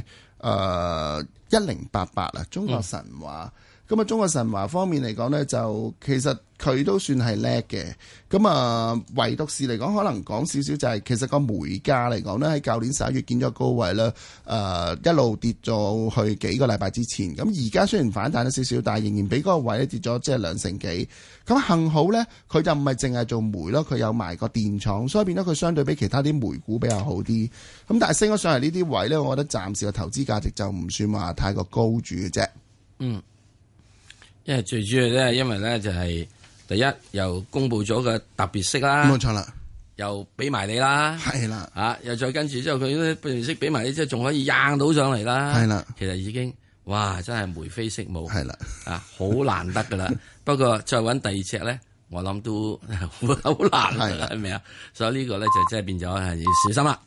S11: 1088啊，中國神華。咁啊，中國神華方面嚟講呢，就其實佢都算係叻嘅。咁啊，唯獨是嚟講，可能講少少就係其實個煤價嚟講呢，喺舊年11月見咗高位啦，一路跌咗去幾個禮拜之前。咁而家雖然反彈咗少少，但係仍然比嗰個位跌咗即係2成幾。咁幸好呢，佢就唔係淨係做煤咯，佢有埋個電廠，所以變咗佢相對比其他啲煤股比較好啲。咁但係升咗上嚟呢啲位呢，我覺得暫時嘅投資價值就唔算話太過高住嘅啫。
S10: 因為最主要咧，因為咧就係第一又公布咗個特別息啦，
S11: 冇錯啦，
S10: 又俾埋你啦，
S11: 係啦，
S10: 又再跟住之後佢咧特別息俾埋你，即係仲可以硬到上嚟啦，
S11: 係啦，
S10: 其實已經哇真係眉飛色舞，
S11: 係啦，
S10: 好難得噶啦。不過再揾第二隻咧，我諗都好難，係咪啊？所以呢個咧就真係變咗係要小心啦。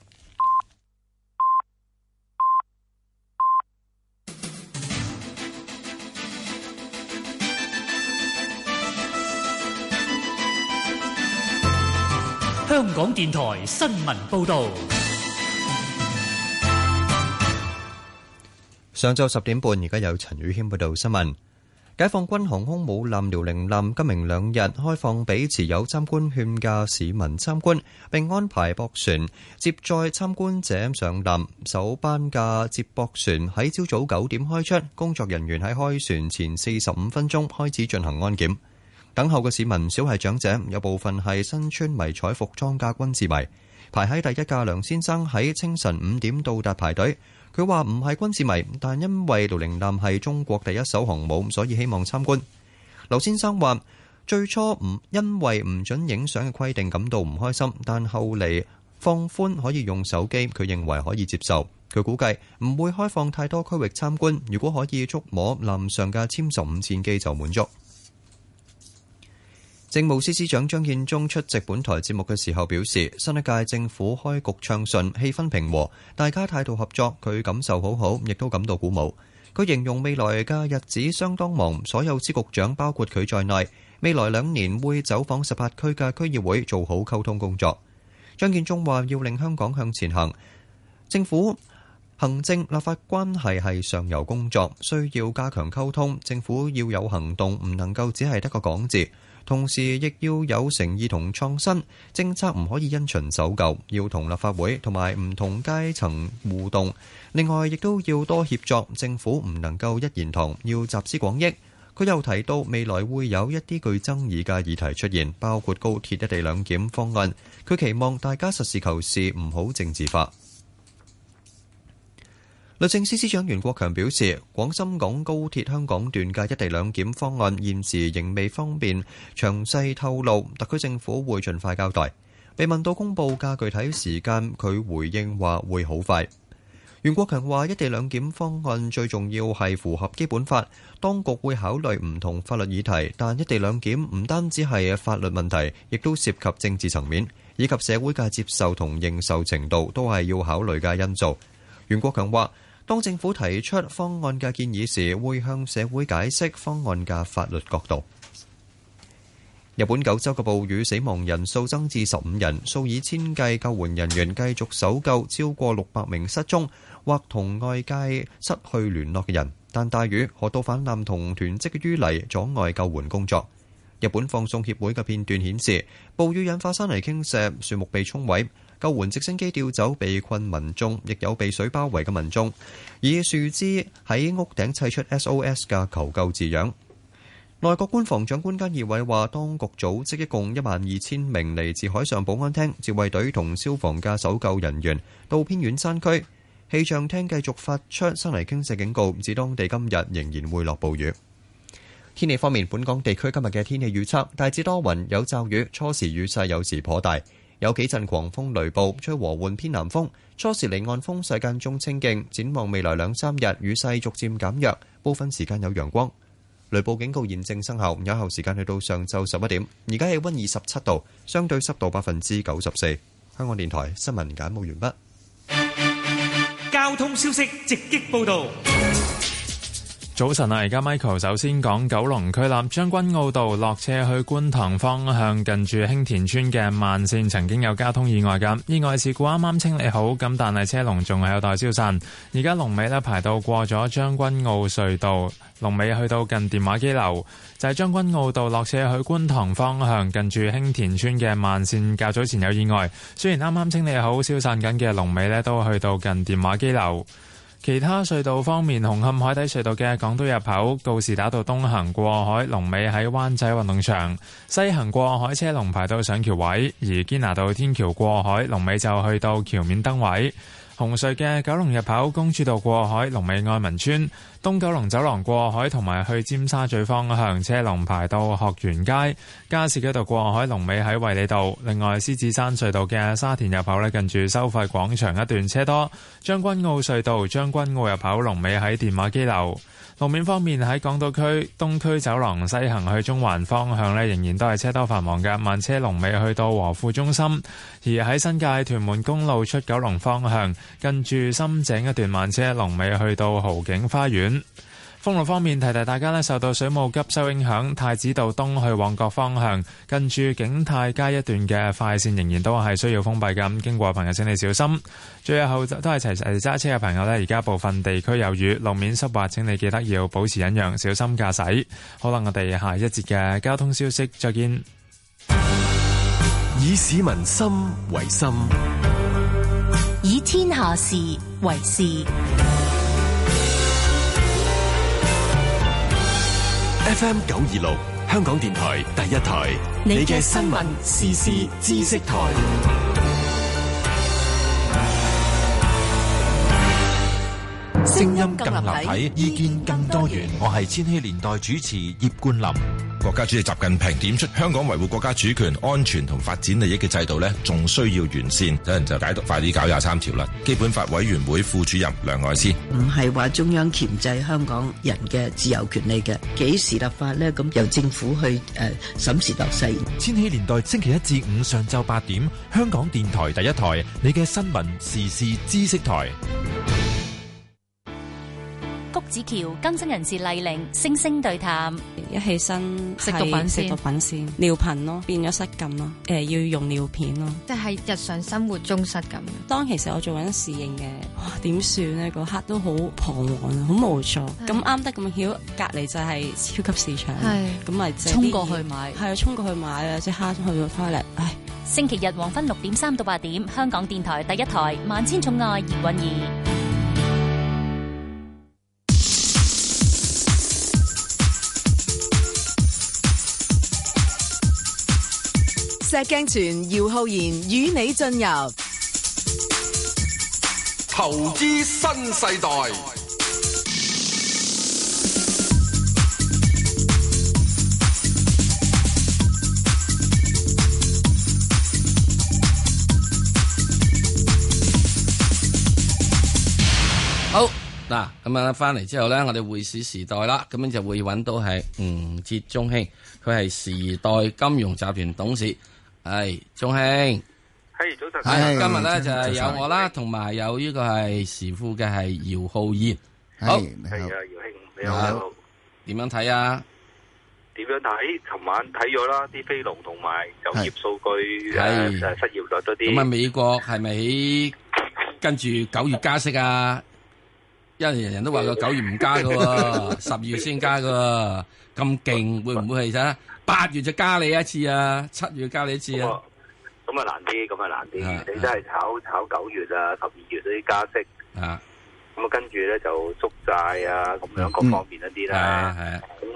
S13: 香港電台新聞報導。
S14: 上晝10點半，而家有陳宇軒報道新聞。解放軍航空母艦遼寧艦今明2日開放俾持有參觀券嘅市民參觀，並安排駁船接載參觀者上艦。首班嘅接駁船喺朝早9點開出，工作人員喺開船前45分鐘開始進行安檢。等候嘅市民唔少係長者，有部分係身穿迷彩服裝嘅軍事迷。排喺第一嘅梁先生喺清晨5點到達排隊。佢話唔係軍事迷，但因為遼寧艦係中國第一艘航母，所以希望參觀。劉先生話最初因為唔准影相嘅規定感到唔開心，但後嚟放寬可以用手機，佢認為可以接受。佢估計唔會開放太多區域參觀，如果可以觸摸艦上嘅殲15戰機就滿足。政務司司長張建宗出席本台節目嘅時候表示，新一屆政府開局暢順，氣氛平和，大家態度合作，佢感受好好，亦都感到鼓舞。佢形容未來嘅日子相當忙，所有司局長包括佢在內，未來2年會走訪18區嘅區議會，做好溝通工作。張建宗話要令香港向前行，政府行政立法關係係上游工作，需要加強溝通，政府要有行動，唔能夠只係得個講字。同時亦要有誠意同創新，政策唔可以因循守舊，要同立法會同埋唔同階層互動。另外，亦都要多協作，政府唔能夠一言堂，要集思廣益。佢又提到未來會有一啲具爭議嘅議題出現，包括高鐵一地兩檢方案。佢期望大家實事求是，唔好政治化。律政司司長袁國強表示，廣深港高鐵香港段嘅一地兩檢方案現時仍未方便詳細透露，特區政府會盡快交代。被問到公佈嘅具體時間，佢回應話會好快。袁國強話，一地兩檢方案最重要係符合基本法，當局會考慮唔同法律議題，但一地兩檢唔單止係法律問題，亦都涉及政治層面，以及社會嘅接受同認受程度，都係要考慮嘅因素。袁國強話，當政府提出方案嘅建議時，會向社會解釋方案嘅法律角度。日本九州嘅暴雨死亡人數增至15人，數以千計救援人員繼續搜救超過600名失蹤或同外界失去聯絡嘅人，但大雨、河道泛濫同囤積嘅淤泥阻礙救援工作。日本放送協會嘅片段顯示，暴雨引發山泥傾瀉，樹木被沖毀。救援直升機調走被困民眾，亦有被水包圍嘅民眾，以樹枝喺屋頂砌出 SOS 嘅求救字樣。 內閣官房長官菅義偉話，當局組織一共12000名嚟自海上保安廳、自衛隊同消防嘅搜救人員到偏遠山區。氣象廳繼續發出山泥傾瀉警告，指當地今日仍然會落暴雨。天氣方面，本港地區今日嘅天氣預測大致多雲有驟雨，初時雨勢有時頗大，有幾陣狂風雷暴，吹和緩偏南風，初時離岸風勢間中清勁。展望未來2-3日，雨勢逐漸減弱，部分時間有陽光。雷暴警告現正生效，有效時間去到上晝11點。而家氣溫27度，相對濕度94%。香港電台新聞簡報完畢。
S7: 交通消息直擊報道。
S15: 早晨啊，而家 Michael 首先講九龍區立將軍澳道落車去觀塘方向，近住興田村嘅慢線曾經有交通意外㗎，意外事故啱啱清理好，咁但係車龍仲係有待消散。而家龍尾呢排到過咗將軍澳隧道，龍尾去到近電話機樓，就係將軍澳道落車去觀塘方向，近住興田村嘅慢線較早前有意外，雖然啱啱清理好消散緊嘅龍尾呢都去到近電話機樓。其他隧道方面，紅磡海底隧道嘅港島入口告士打道東行過海，龍尾喺灣仔運動場；西行過海車龍排到上橋位，而堅拿道天橋過海龍尾就去到橋面燈位。紅隧嘅九龍入口公主道過海龍尾愛民村，東九龍走廊過海同埋去尖沙咀方向車龍排到學園街，加士居道過海龍尾喺衛理道。另外獅子山隧道嘅沙田入口近住收費廣場一段車多。將軍澳隧道將軍澳入口龍尾喺電話機樓。路面方面，喺港島區東區走廊西行去中環方向仍然都係車多繁忙嘅，慢車龍尾去到和富中心。而喺新界屯門公路出九龍方向，近住深井一段慢車龍尾去到豪景花園。封路方面，提提大家受到水務急修影響，太子道東去旺角方向，近住景泰街一段嘅快線仍然都係需要封閉嘅，經過嘅朋友請你小心。最後都係齊齊揸車嘅朋友而家部分地區有雨，路面濕滑，請你記得要保持忍讓，小心駕駛。好啦，我哋下一節嘅交通消息再見。
S8: 以市民心為心，
S17: 以天下事為事。
S8: FM 926，香港電台第一台，你嘅新聞時事知識台，
S16: 聲音更立體，意見更多元。我係千禧年代主持葉冠霖。國家主席習近平點出，香港維護國家主權、安全同發展利益嘅制度呢，仲需要完善。有人就解讀快啲搞23條啦。基本法委員會副主任梁愛詩，
S18: 唔係話中央鉗制香港人嘅自由權利嘅，幾時立法呢？咁由政府去審時度勢。
S16: 千禧年代星期一至五上晝8點，香港電台第一台，你嘅新聞時事知識台。
S17: 谷子橋更新人士麗玲星星對談，
S20: 一起身食毒品先，尿頻咯，變咗失禁咯，要用尿片咯，
S22: 即係日常生活中失禁。
S20: 當其實我做緊侍應嘅，哇點算呢？嗰刻都好彷徨啊，好無助。咁啱得咁巧，隔離就係超級市場，咁咪
S22: 衝過去買，
S20: 係啊，衝過去買啊，即刻去到 toilet。唉，
S17: 星期日黃昏6點3到8點，香港電台第一台萬千寵愛葉韻儀。
S9: 石鏡泉姚浩然與你進入
S23: 投資新世代。
S10: 好嗱，咁啊翻嚟之後咧，我哋匯市時代啦，咁樣就會揾到係吳捷鐘兄，佢係時代金融集團董事。係鐘兄，
S26: 係早晨。
S10: 係今日咧就係有我啦，同埋有呢個係時富嘅係姚浩然。好，
S26: 係啊，姚兄你好。
S10: 點樣睇啊？
S26: 點樣睇？尋晚睇咗啦，啲非農同埋就業數據，失業率嗰啲。
S10: 咁啊，美國係咪跟住9月加息啊？因為人人都話個9月唔加噶，12月先加噶，咁勁會唔會係啫？8月就加你一次啊，7月加你一次啊。
S26: 咁啊難啲，你真係炒9月啊、12月嗰啲加息咁啊，跟住咧就縮債啊，咁樣各方面一啲啦。咁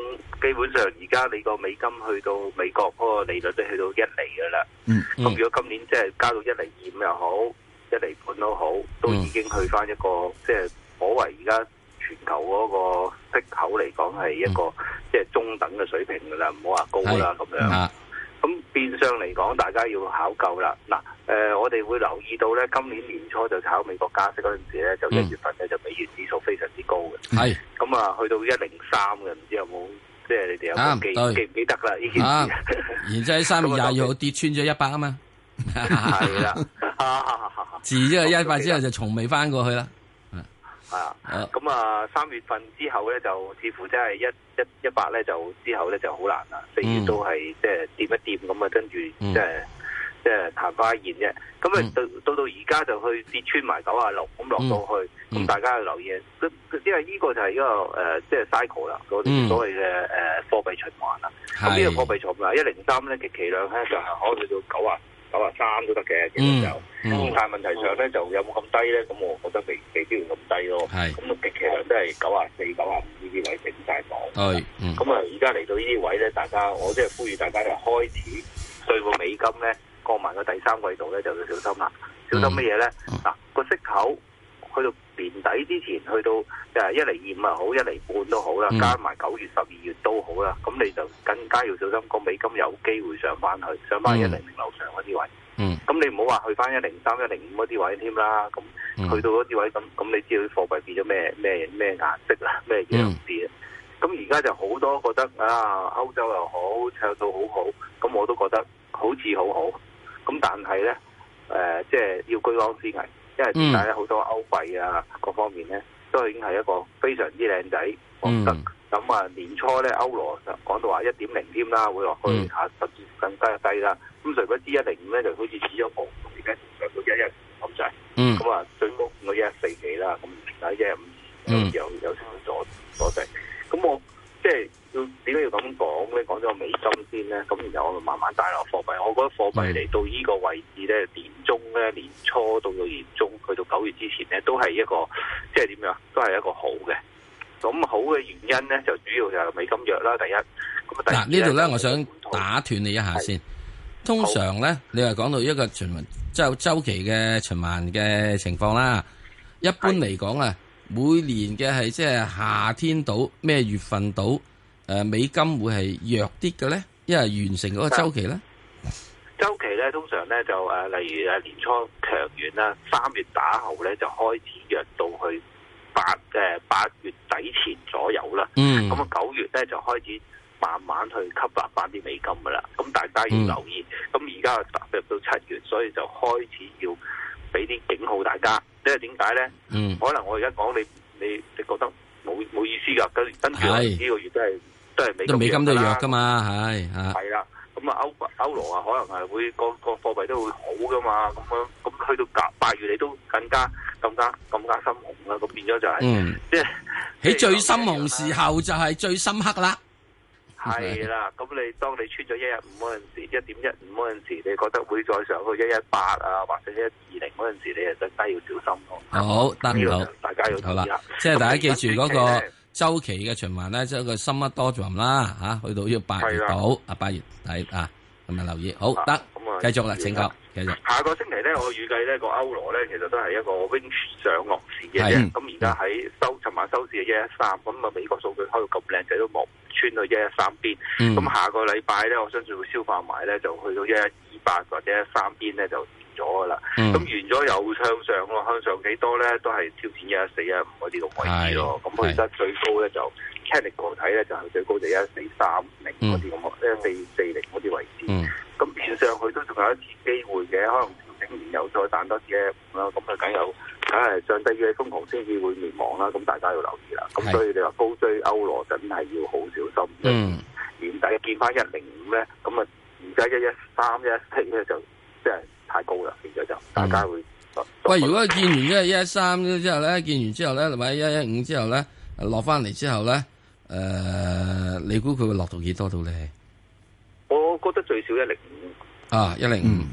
S26: 基本上而家你個美金去到美國嗰個利率都去到1厘㗎啦。咁如果今年即係加到1.25厘又好，1.5厘都好，都已經去翻一個即係可謂而家全球嗰個息口嚟講係一個即係中等嘅水平㗎啦，唔好話高啦咁樣。咁變相嚟講，大家要考究啦。嗱，我哋會留意到咧，今年年初就炒美國加息嗰陣時咧，就1月份咧就美元指數非常之高嘅。係。咁啊，去到103嘅，唔知有冇即係你哋有冇記唔記得啦？呢件事。
S10: 然之後喺3月22號跌穿咗100啊嘛。
S26: 係啦。
S10: 自呢個100之後就從未翻過去啦。
S26: 咁啊，3月份之後咧，就似乎真係100咧，就之後咧就好難啦。4月都係即係掂一掂咁啊，跟住即係曇花一現啫。咁啊，到而家就去跌穿埋96，咁落到去，咁大家要留意，因為呢個就係一個即係 cycle 啦，嗰啲所謂嘅貨幣循環啦。咁呢個貨幣循環103咧，極其量咧就係可以去到93都得嘅，其實就。但係問題上咧，就有冇咁低咧？咁我覺得未必要咁低咯。咁啊，極其量都係94、95呢啲位整晒檔。咁啊，而家嚟到呢啲位咧，大家我即係呼籲大家就開始對個美金咧過埋個第3季度咧就要小心啦。小心乜嘢咧？嗱，個息口去到年底之前，去到1.25厘又好，1.5厘都好啦，加埋9月、12月都好啦。咁你就更加要小心，個美金有機會上翻100樓上嗰啲位。咁你唔好話去翻103、105嗰啲位添啦。咁去到嗰啲位，咁你知道啲貨幣變咗咩顏色啦，咩樣子啊？咁而家就好多覺得歐洲又好，唱到好好，咁我都覺得好似好好。咁但係咧，即係要居安思危，因為點解咧？好多歐幣啊，各方面咧都已經係一個非常之靚仔，我覺得。咁啊，年初咧歐羅就講到話1.0添啦，會落去甚至更加低啦。咁誰不知1.5咧就好似指咗步，而家上到1.1咁滯。咁啊，最高見到1.14幾啦，咁而家1.5有少少阻滯。咁我即係點解要咁講咧？講咗個美金先咧，咁然後我慢慢帶落貨幣。我覺得貨幣嚟到呢個位置咧，年初到年中去到9月之前咧，都係一個即係點樣？都係一個好嘅。咁好嘅原因咧，就主要就係美金弱啦。第一，
S10: 嗱呢度咧，我想打斷你一下先。通常咧，你話講到一個循環周期嘅循環嘅情況啦。一般嚟講啊，每年嘅係即係夏天到咩月份到，美金會係弱啲嘅咧，因為完成嗰個周期咧。
S26: 周期咧，通常咧就例如年初強完啦，3月打後咧就開始弱到去8月底前左右啦。咁啊9月咧就開始慢慢去吸納翻啲美金噶啦。咁大家要留意。咁而家踏入到7月，所以就開始要俾啲警號大家。因為點解咧？可能我而家講你覺得冇意思噶。跟住呢個月都係美金
S10: 都弱噶嘛，係
S26: 啦。咁啊歐羅啊，可能係會個貨幣都會好噶嘛。咁去到8月你都更加深紅啦。咁變咗就係即係
S10: 喺最深紅時候就係最深刻啦。
S26: 係啦，咁當你穿咗1.15嗰陣時，1.15嗰陣時，你覺得會再上去1.18啊，或者1.20嗰陣時，你就更加要小心咯。
S10: 好，得唔到？
S26: 大家要
S10: 好啦，即係大家記住嗰個周期嘅循環咧，即係個深一多咗啦嚇，去到要8月到8月底啊，咁啊留意。好得，繼續啦，請講，繼續。
S26: 下個星期咧，我預計呢個歐羅咧，其實都係一個 range 上落市嘅啫。咁而家喺尋晚收市係1.13，咁啊美國數據開到咁靚仔都冇穿到1.13邊。咁下個禮拜咧，我相信會消化埋咧，就去到1.28或者1.3邊咧就完咗噶啦。咁完咗又向上咯，向上幾多咧？都係挑戰1.14、1.5嗰啲咁位置咯。咁其實最高咧就 technical 睇咧就係最高就1.430嗰啲咁，1.440嗰啲位置。咁變上去都仲有一次機會嘅，可能調整完又再彈多啲啦。咁啊，梗係上帝嘅瘋狂先至會滅亡啦。咁大家要留意啦。咁所以你話高追歐羅真係要好小心。年底見翻1.05咧，咁啊而家1.13、1.14咧就即係太高啦，變咗就大家會。
S10: 喂，如果見完1.13之後咧，見完之後咧，或者1.15之後咧，落翻嚟之後咧，你估佢會落到幾多度咧？
S26: 我覺得最少1.05。
S10: 1.05好。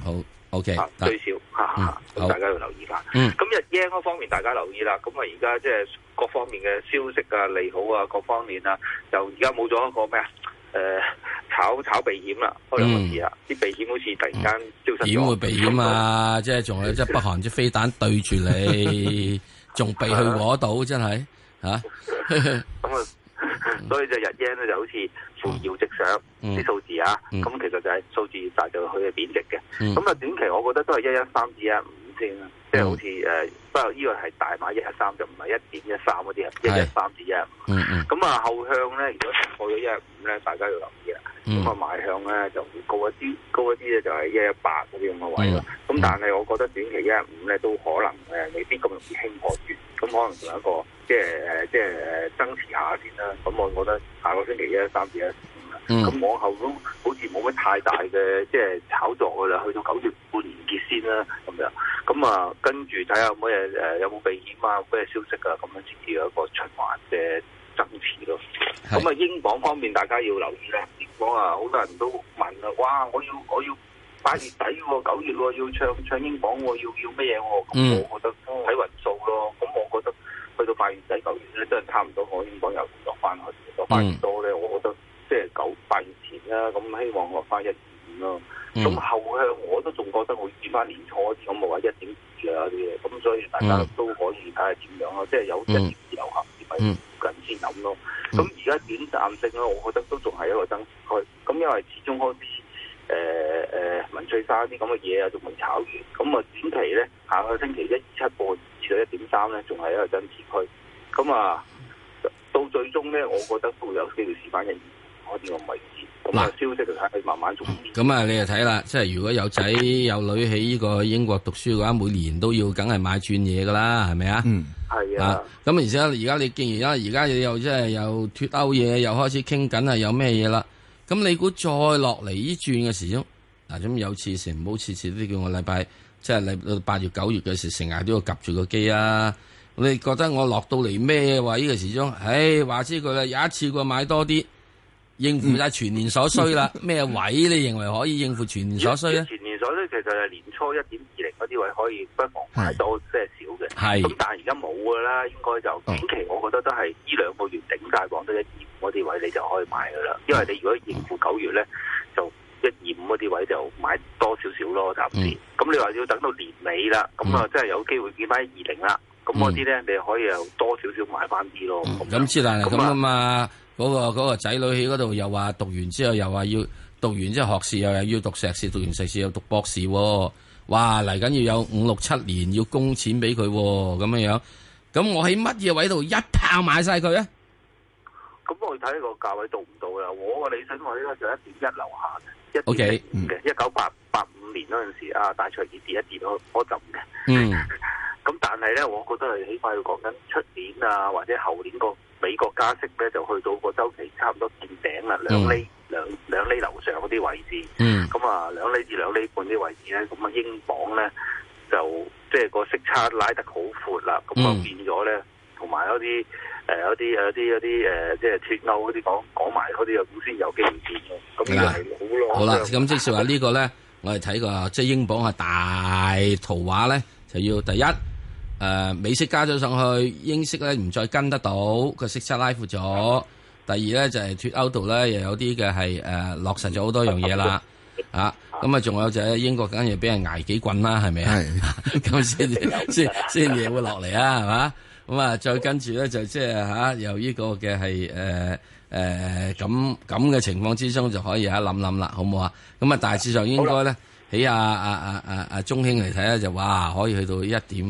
S10: OK，
S26: 最少咁大家要留意翻。咁日 yen 嗰方面大家留意啦。咁啊而家即係各方面嘅消息啊、利好啊、各方面啊，就而家冇咗一個咩炒避險啦，開兩個字啊，啲避險好似突然間消失咗。
S10: 點會避險啊？即係仲有即係北韓隻飛彈對住你，仲避去嗰度，真係嚇。
S26: 咁啊，所以就日 yen 咧就好似扶搖直上啲數字啊。咁其實就係數字越大就佢係貶值嘅。咁啊短期我覺得都係113至115先啦，即係好似不過呢個係大碼113就唔係1.13嗰啲啊，113至115。咁啊後向咧，如果過咗115咧，大家要留意啦。咁啊賣向咧就會高一啲咧就係118嗰啲咁嘅位咯。咁但係我覺得短期115咧都可能未必咁容易輕破住，咁可能仲有一個即係增持下先啦。咁我覺得下個星期113至115啦。咁往後都好似冇乜太大嘅即係炒作噶啦，去到9月半年結先啦咁樣。咁啊跟住睇下有冇有冇避險啊，咩消息啊，咁樣先至有一個循環嘅增持咯。咁啊英鎊方面大家要留意咧，英鎊啊好多人都問啊，哇我要8月底喎，9月喎要唱英鎊喎，要咩嘢喎？咁我覺得睇運數咯。咁我覺得去到8月底9月咧，真係差唔多，我英鎊又落翻去，落翻越多咧，我覺得即係8月前啦，咁希望落翻1.5咯。咁後向我都仲覺得會見翻年初啲咁嘅話1.2啊啲嘢，咁所以大家都可以睇下點樣咯，即係有1.2流行啲咪附近先諗咯。咁而家短暫性咧，我覺得都仲係一個增持區。咁因為始終嗰啲文翠珊啲咁嘅嘢啊，仲未炒完。咁啊短期咧，下個星期127半至到1.3咧，仲係一個增持區。咁啊到最終咧，我覺得都會有機會試翻1.2嗰啲咁位置。咁啊消息就睇佢慢慢做。
S10: 咁啊，你就睇啦，即係如果有仔有女喺呢個英國讀書嘅話，每年都要梗係買轉嘢噶啦，係咪啊？
S26: 係啊。
S10: 咁而且而家你既然而家又即係又脱歐嘢，又開始傾緊啊，有咩嘢啦？咁你估再落嚟呢轉嘅時鐘嗱，咁有次成唔好次次都叫我禮拜即係嚟到8月9月嘅時，成日都要夾住個機啊！你覺得我落到嚟咩位嘅時鐘？唉，話知佢啦，有一次過買多啲。應付晒全年所需啦，咩位你認為可以應付全年所需咧？
S26: 全年所需其實係年初1.20嗰啲位可以不妨買多些少嘅。係。咁但係而家冇㗎啦，應該就短期我覺得都係呢2個月頂晒磅都1.25嗰啲位你就可以買㗎啦。因為你如果應付9月咧，就1.25嗰啲位就買多少少咯，暫時。咁你話要等到年尾啦，咁啊真係有機會見翻1.20啦。咁嗰啲咧你可以又多少少買翻啲咯。
S10: 咁之但係咁啊嘛。嗰個仔女喺嗰度又話讀完之後又話要讀完之後學士又要讀碩士，讀完碩士又讀博士喎，哇嚟緊要有5、6、7年要供錢俾佢咁樣，咁我喺乜嘢位度一炮買晒佢啊？
S26: 咁我睇個價位到唔到啦？我個理想位咧就1.1樓下嘅
S10: ，1.1
S26: 嘅1985年嗰陣時啊，大財跌一跌嗰陣嘅。咁但係咧，我覺得係起碼要講緊出年啊，或者後年個美國加息咧，就去到個週期差唔多見頂啦，2厘樓上嗰啲位置。咁啊，2厘至2厘半啲位置咧，咁啊英鎊咧就即係個息差拉得好闊啦。咁啊變咗咧，同埋有啲即係脫歐嗰啲講埋嗰啲啊，咁先有機會見咯。咁呢個係好咯。
S10: 好啦，咁即係話呢個咧，我哋睇個即係英鎊係大圖畫咧，就要第一。美息加咗上去，英息咧唔再跟得到，個息差拉闊咗。第二咧就係脫歐度咧又有啲嘅係落實咗好多樣嘢啦，咁啊仲有就係英國梗係俾人捱幾棍啦，係咪啊？咁先嘢會落嚟啊，係嘛？咁啊再跟住咧就即係由呢個嘅係咁嘅情況之中就可以諗啦，好唔好啊？咁啊大致上應該咧。喺中興嚟睇咧，就哇可以去到1.0幾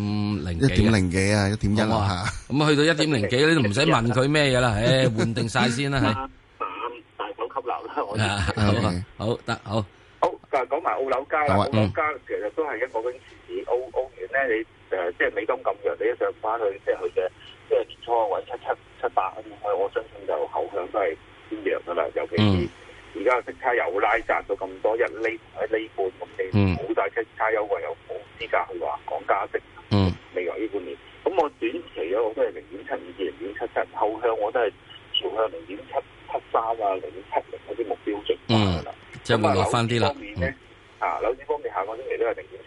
S11: ，1.0幾啊，1.1啊嚇。咁
S10: 去到1.0幾，你都唔使問佢咩嘢啦，換定晒先啦，係。
S26: 大手吸納啦，
S10: 好得好。
S26: 好，就講埋澳樓價啦。澳樓價其實都係一個嗰啲市，澳元咧，你即係美金咁弱，你一上翻去即係佢嘅即係年初或者778咁，我相信就後向都係偏弱噶啦，尤其是。而家息差又拉窄到咁多，1厘同1厘半，咁你冇晒息差優惠，又冇資格去話講加息。未來呢半年，咁我短期咧我都係0.75至0.77，後向我都係朝向0.773啊、0.70嗰啲目標值㗎啦。
S10: 即係會落翻啲啦。
S26: 樓市方面咧，樓市方面下個星期都係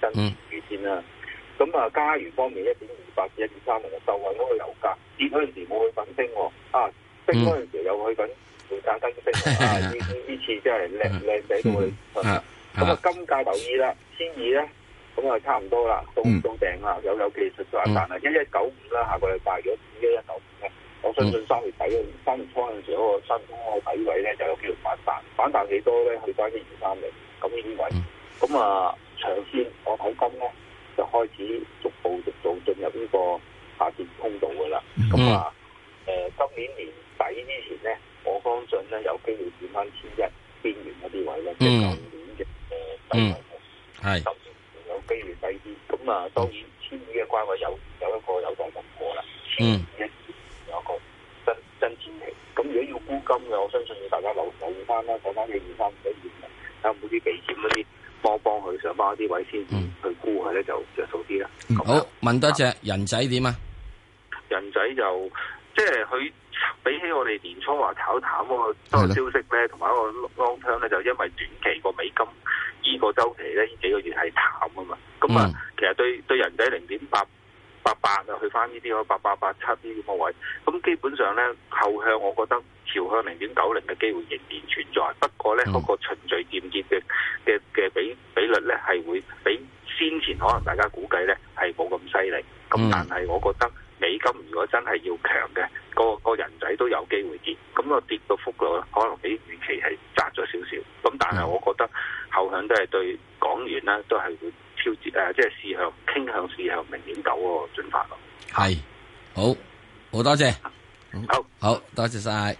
S26: 住先啦。咁啊，加元方面1.28至1.30就受惠嗰個油價跌嗰陣時冇去粉升喎，升嗰陣時又去緊回價跟升呢次真係靚仔到去。咁啊，金價留意啦，1,200咧，咁啊差唔多啦，到頂啦，有技術反彈啦，1195啦，下個禮拜如果1195咧，我相信3月初嗰陣時嗰個新嗰個底位咧就有機會反彈幾多咧？去翻1.230咁呢啲位。咁啊，長線我睇金咧就開始逐步進入呢個下跌通道噶啦。咁今年年底之前咧，我相信咧有機會見翻1,100邊緣嗰啲位咧，即係舊年嘅低位，甚至有機會低啲。咁啊，當然1,200嘅關位有一個有待突破啦。1,200有一個真前期。咁如果要沽金嘅，我相信要大家留意翻啦，睇翻1.235嘅，睇下冇啲避險嗰啲幫佢上翻一啲位先去沽佢咧，就着數啲啦。
S10: 好，問多隻人仔點啊？
S26: 人仔就即係佢比起我哋年初話炒淡嗰個消息咧，同埋一個 long term 咧，就因為短期個美金2個週期咧，呢幾個月係淡啊嘛。咁其實對人仔0.888啊，去翻呢啲8887呢啲個位，咁基本上咧後向，我覺得朝向0.90嘅機會仍然存在。不過咧，嗰個循序漸進嘅比率咧係會比先前可能大家估計咧係冇咁犀利。咁但係我覺得美金如果真係要強嘅，個人仔都有機會跌。咁個跌嘅幅度可能比預期係窄咗少少。咁但係我覺得後向都係對港元咧都係會挑戰即係傾向試向0.9個進發咯。
S10: 係，好多謝，好多謝晒。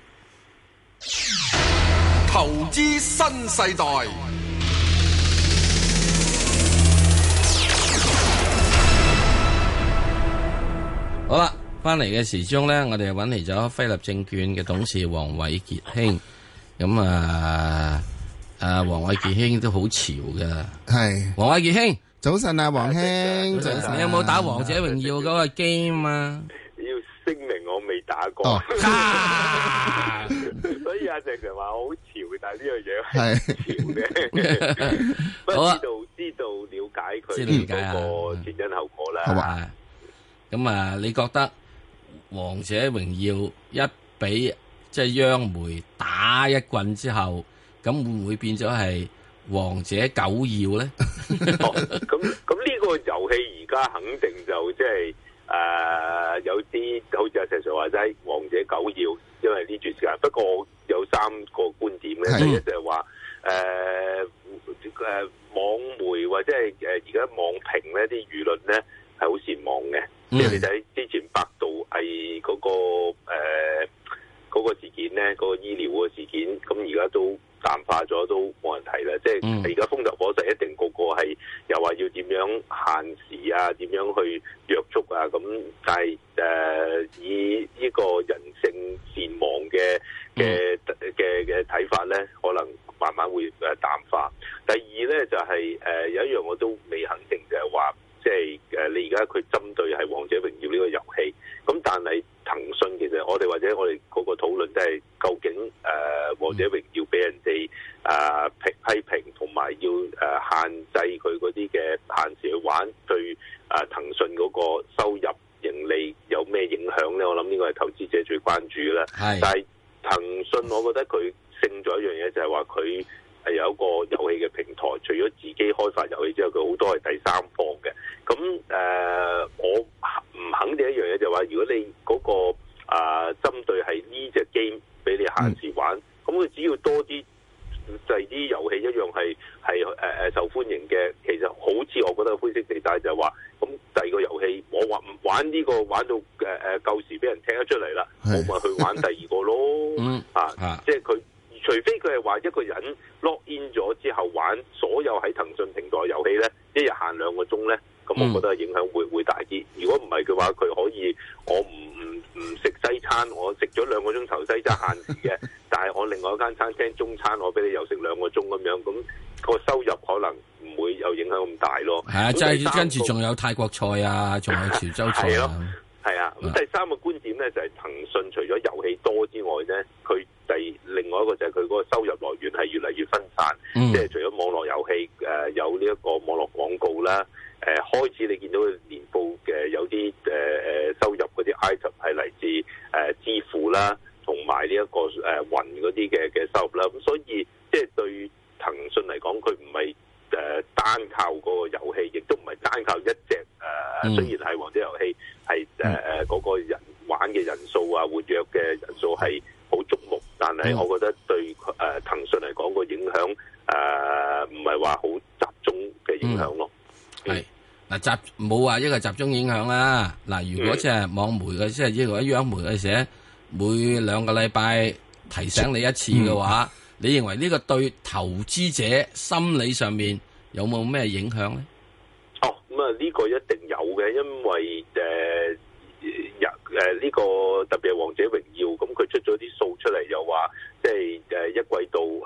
S23: 投資新世代。
S10: 好啦，翻嚟嘅時鐘咧，我哋揾嚟咗輝立證券嘅董事黃偉傑兄。咁黃偉傑兄都好潮噶。係，黃偉傑兄，
S11: 早晨啊，黃兄，早晨。
S10: 你有冇打王者榮耀嗰個 game 啊？
S1: 要聲明我未打過。所以阿石就話我好潮，但係呢樣嘢係潮嘅。不過知道了解佢嗰個前因後果啦。
S10: 好啊。咁你覺得王者榮耀一俾即係央媒打一棍之後，咁會唔會變咗係王者九耀咧？
S1: 咁呢個遊戲而家肯定就即係有啲好似阿石 Sir 話齋王者九耀，因為呢段時間。不過有3個觀點嘅，第一就係話網媒或者係而家網評咧啲輿論咧係好善忘嘅。即係你睇之前百度係嗰個事件咧，嗰個醫療嗰個事件，咁而家都淡化咗，都冇人提啦。即係而家風頭火勢，一定個係又話要點樣限時啊，點樣去約束啊。咁但係以呢個人性善忘嘅睇法咧，可能慢慢會淡化。第二咧就係有一樣我都未肯定，就係話。即係你而家佢針對係《王者榮耀》呢個遊戲，咁但係騰訊其實我哋或者我哋嗰個討論都係究竟《王者榮耀》俾人哋批評，同埋要限制佢嗰啲嘅限時去玩，對騰訊嗰個收入盈利有咩影響咧？我諗呢個係投資者最關注嘅啦。但係騰訊，我覺得佢勝咗一樣嘢，就係話佢係有一個遊戲嘅平台，除咗自己開發遊戲之後，佢好多係第三方嘅。咁我唔肯定一樣嘢，就係話，如果你嗰個針對係呢隻 game 俾你限時玩，咁佢只要多啲就係啲遊戲一樣係受歡迎嘅。其實好似我覺得灰色地帶就係話，咁第二個遊戲我話唔玩呢個玩到夠時俾人聽得出嚟啦，我咪去玩第二個咯。即係佢。除非佢係話一個人 log in 咗之後玩所有喺騰訊平台遊戲咧，一日限2個鐘咧，咁我覺得影響會大啲。如果唔係嘅話，佢可以我唔食西餐，我食咗2個鐘頭西餐限時嘅，但係我另外一間餐廳中餐我俾你又食2個鐘咁樣，咁個收入可能唔會有影響咁大咯。
S10: 係啊，即係跟住仲有泰國菜啊，仲有潮州菜啊。
S1: 係啊， 咁第三個觀點咧就係騰訊除咗遊戲多之外咧，佢另外一個就係佢嗰個收入來源係越嚟越分散，即係除咗網絡遊戲有呢一個網絡廣告啦，開始你見到年報嘅有啲收入嗰啲 item 係嚟自支付啦，同埋呢一個雲嗰啲嘅收入啦，咁所以即係對騰訊嚟講，佢唔係單靠嗰個遊戲，亦都唔係單靠一隻雖然係王者遊戲係嗰個人玩嘅人數啊，活躍嘅人數係好矚目，但係我覺得對騰訊嚟講個影響唔係話好集中嘅影響咯。
S10: 係嗱冇話一個集中影響啦。嗱，如果即係網媒嘅，即係一個央媒嘅寫每2個禮拜提醒你一次嘅話，你認為呢個對投資者心理上面有冇咩影響咧？
S1: 哦，咁啊呢個一定有嘅，因為呢個特別係《王者榮耀》，咁佢出咗啲數出嚟，又話即係一季度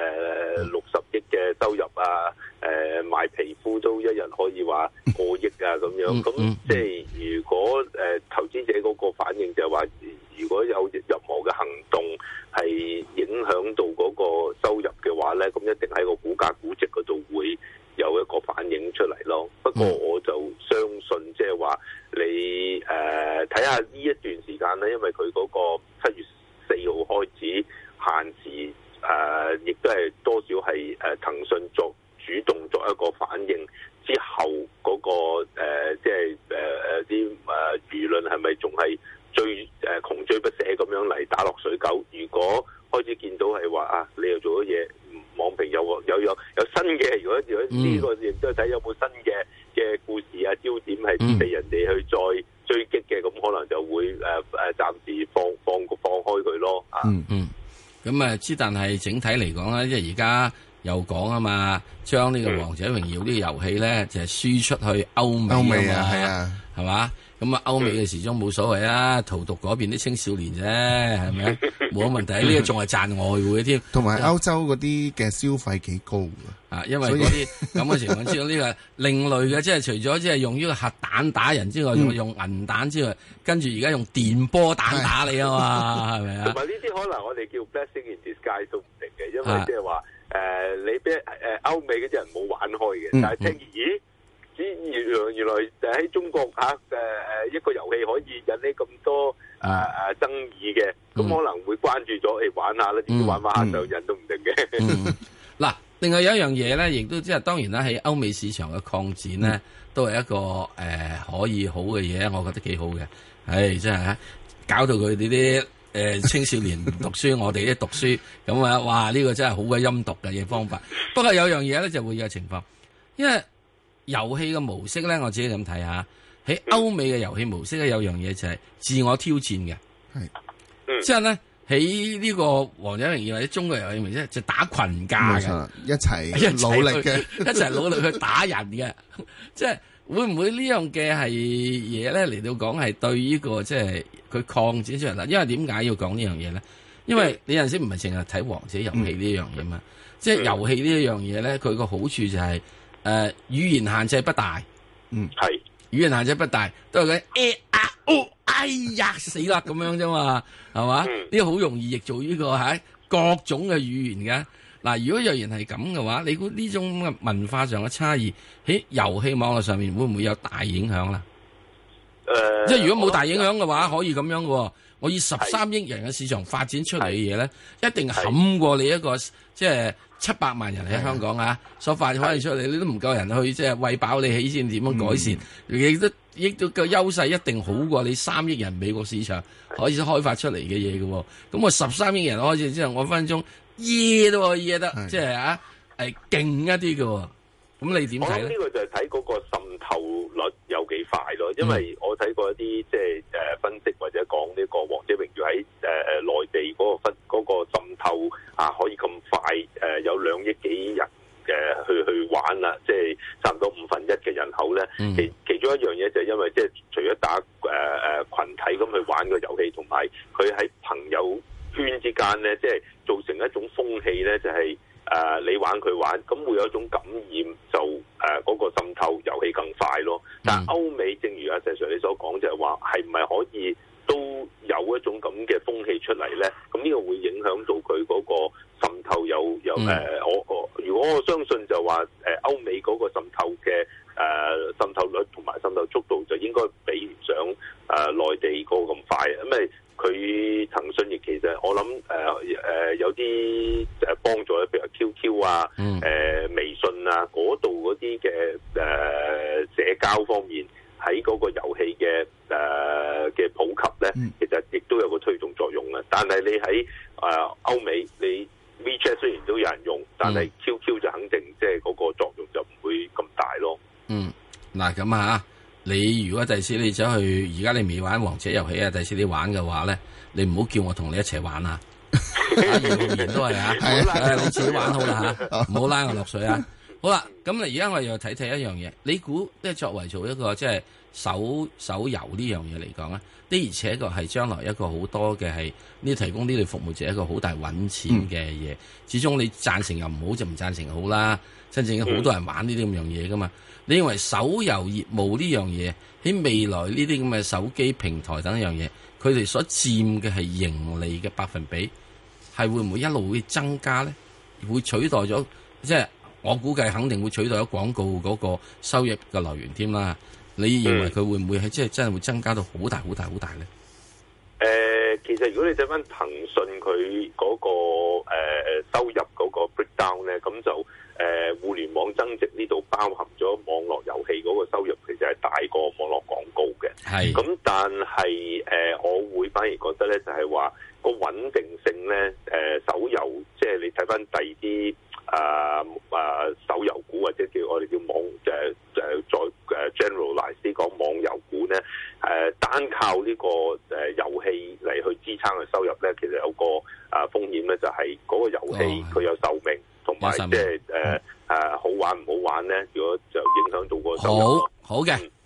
S1: 60億嘅收入啊，賣皮膚都一日可以話過億啊咁樣，咁即係如果投資者嗰個反應就係話，如果有任何嘅行動係影響到嗰個收入嘅話咧，咁一定喺個股價估值嗰度會有一個反映出嚟咯。不過我就相信即係話你睇下呢一段時間咧，因為佢嗰個7月4號開始限時，亦都係多少係騰訊主動作一個反應之後嗰個即係啲輿論係咪仲係窮追不捨咁樣嚟打落水狗？如果開始見到係話你又做咗嘢，網評有新嘅，如果呢個亦都睇有冇新嘅故事啊焦點係被人哋去再追擊嘅，咁可能就會暫時放開佢咯。
S10: 咁之但係整體嚟講咧，即係而家又講啊嘛，將呢個《王者榮耀》呢個遊戲咧就係輸出去歐美啊嘛，係啊，係嘛？咁歐美嘅時鐘冇所謂啊，荼毒嗰邊啲青少年啫，係咪？冇乜問題，呢個仲係賺外匯添。
S11: 同埋歐洲嗰啲嘅消費幾高
S10: 因為嗰啲咁嘅情況之下，呢個另類嘅，即係除咗即係用呢個核彈打人之外，仲用銀彈之外，跟住而家用電波彈打你啊嘛，係咪啊？
S1: 同埋呢啲可能我哋叫 blessing in disguise 都唔定嘅，因為即係話你俾歐美嗰啲人冇玩開嘅，但係聽咦？原來喺中國一個遊戲可以引起咁多爭議嘅，咁可能會關注咗，玩下啦，點知玩下就人都唔定嘅。
S10: 嗱，另外有一樣嘢咧，亦都即係當然啦，喺歐美市場嘅擴展咧，都係一個可以好嘅嘢，我覺得幾好嘅。真係搞到佢哋啲青少年唔讀書，我哋啲讀書，咁啊，哇！呢個真係好鬼陰毒嘅嘢方法。不過有樣嘢咧就會有情況，因為遊戲嘅模式咧，我自己咁睇下，喺歐美嘅遊戲模式咧，有樣嘢就係自我挑戰嘅，即係咧喺呢個王者榮耀或者中國遊戲模式就打群架嘅，
S11: 一齊努力嘅，
S10: 一齊努力去打人嘅，即係會唔會呢樣嘅係嘢咧嚟到講係對呢個即係佢擴展出嚟啦？因為點解要講呢樣嘢咧？因為你有陣時唔係淨係睇王者遊戲呢樣嘢嘛，即係遊戲呢一樣嘢咧，佢個好處就係語言限制不大，
S1: 係
S10: 語言限制不大，都係佢哎呀死啦咁樣啫嘛，係嘛？呢個好容易譯做呢個係各種嘅語言嘅。嗱，如果若然係咁嘅話，你估呢種嘅文化上嘅差異喺遊戲網絡上面會唔會有大影響啦？即係如果冇大影響嘅話，可以咁樣嘅。我以13億人嘅市場發展出嚟嘅嘢咧，一定冚過你一個即係700萬人喺香港所發展出嚟，你都唔夠人去即係餵飽你起先點樣改善？亦都個優勢一定好過你3億人美國市場可以開發出嚟嘅嘢嘅。咁我13億人開始之後，我分分鐘耶都可以耶得，即係勁一啲嘅。咁你點睇咧？
S1: 呢個就係睇嗰個滲透率有幾快咯，因為我睇過一啲即係分析或者講呢個王者榮耀喺內地嗰個滲透可以咁快有2億幾人去玩啦，即係差唔多1/5嘅人口咧。其中一樣嘢就係因為即係除咗打群體咁去玩個遊戲，同埋佢喺朋友圈之間咧，即係造成一種風氣咧，就係你玩佢玩，咁會有一種感染，就嗰個滲透遊戲更快咯。 但係歐美正如阿石 Sir 你所講，就係話係唔係可以都有一種咁嘅風氣出嚟咧？咁呢個會影響到佢嗰個滲透有如果我相信就話歐美嗰個滲透嘅滲透率同埋滲透速度就應該比唔上內地嗰個咁快，因為佢騰訊亦其實我諗有啲幫助，譬如 QQ 啊、微信啊嗰度嗰啲嘅社交方面喺嗰個遊戲嘅普及咧，其實亦都有個推動作用嘅。但係你喺歐美，你 WeChat 雖然都有人用，但係 QQ 就肯定即係嗰個作用就唔會咁大咯。
S10: 嗱咁啊，你如果第時你走去，而家你未玩王者遊戲啊，第時你玩嘅話咧，你唔好叫我同你一齊玩啊！姚浩然都係啊，你自己玩好啦嚇，唔好拉我落水啊！好啦，咁而家我哋又睇睇一樣嘢，你估即係作為做一個即係手遊呢樣嘢嚟講咧，的而且確係將來一個好多嘅係呢提供呢類服務者一個好大揾錢嘅嘢。始終你贊成又唔好就唔贊成好啦，真正好多人玩呢啲咁樣嘢噶嘛。你認為手遊業務呢樣嘢喺未來呢啲咁嘅手機平台等一樣嘢，佢哋所佔嘅係盈利嘅百分比係會唔會一路會增加咧？會取代咗即係我估計肯定會取代咗廣告嗰個收入嘅來源添啦。你認為佢會唔會係即係真係會增加到好大好大好大咧？
S1: 其實如果你睇翻騰訊佢嗰個收入嗰個 breakdown 咧，咁就互聯網增值呢度包含咗網絡遊戲嗰個收入，其實係大過網絡廣告嘅。係。咁但係我會反而覺得咧，就係話個穩定性咧，手遊即係你睇翻第二啲手遊股或者叫我哋叫網再generalize 啲講網遊股咧，單靠呢個遊戲嚟去支撐嘅收入咧，其實有個風險咧，就係嗰個遊戲佢有壽命，同埋即係好玩唔好玩咧，如果就影響到個收入。好嘅。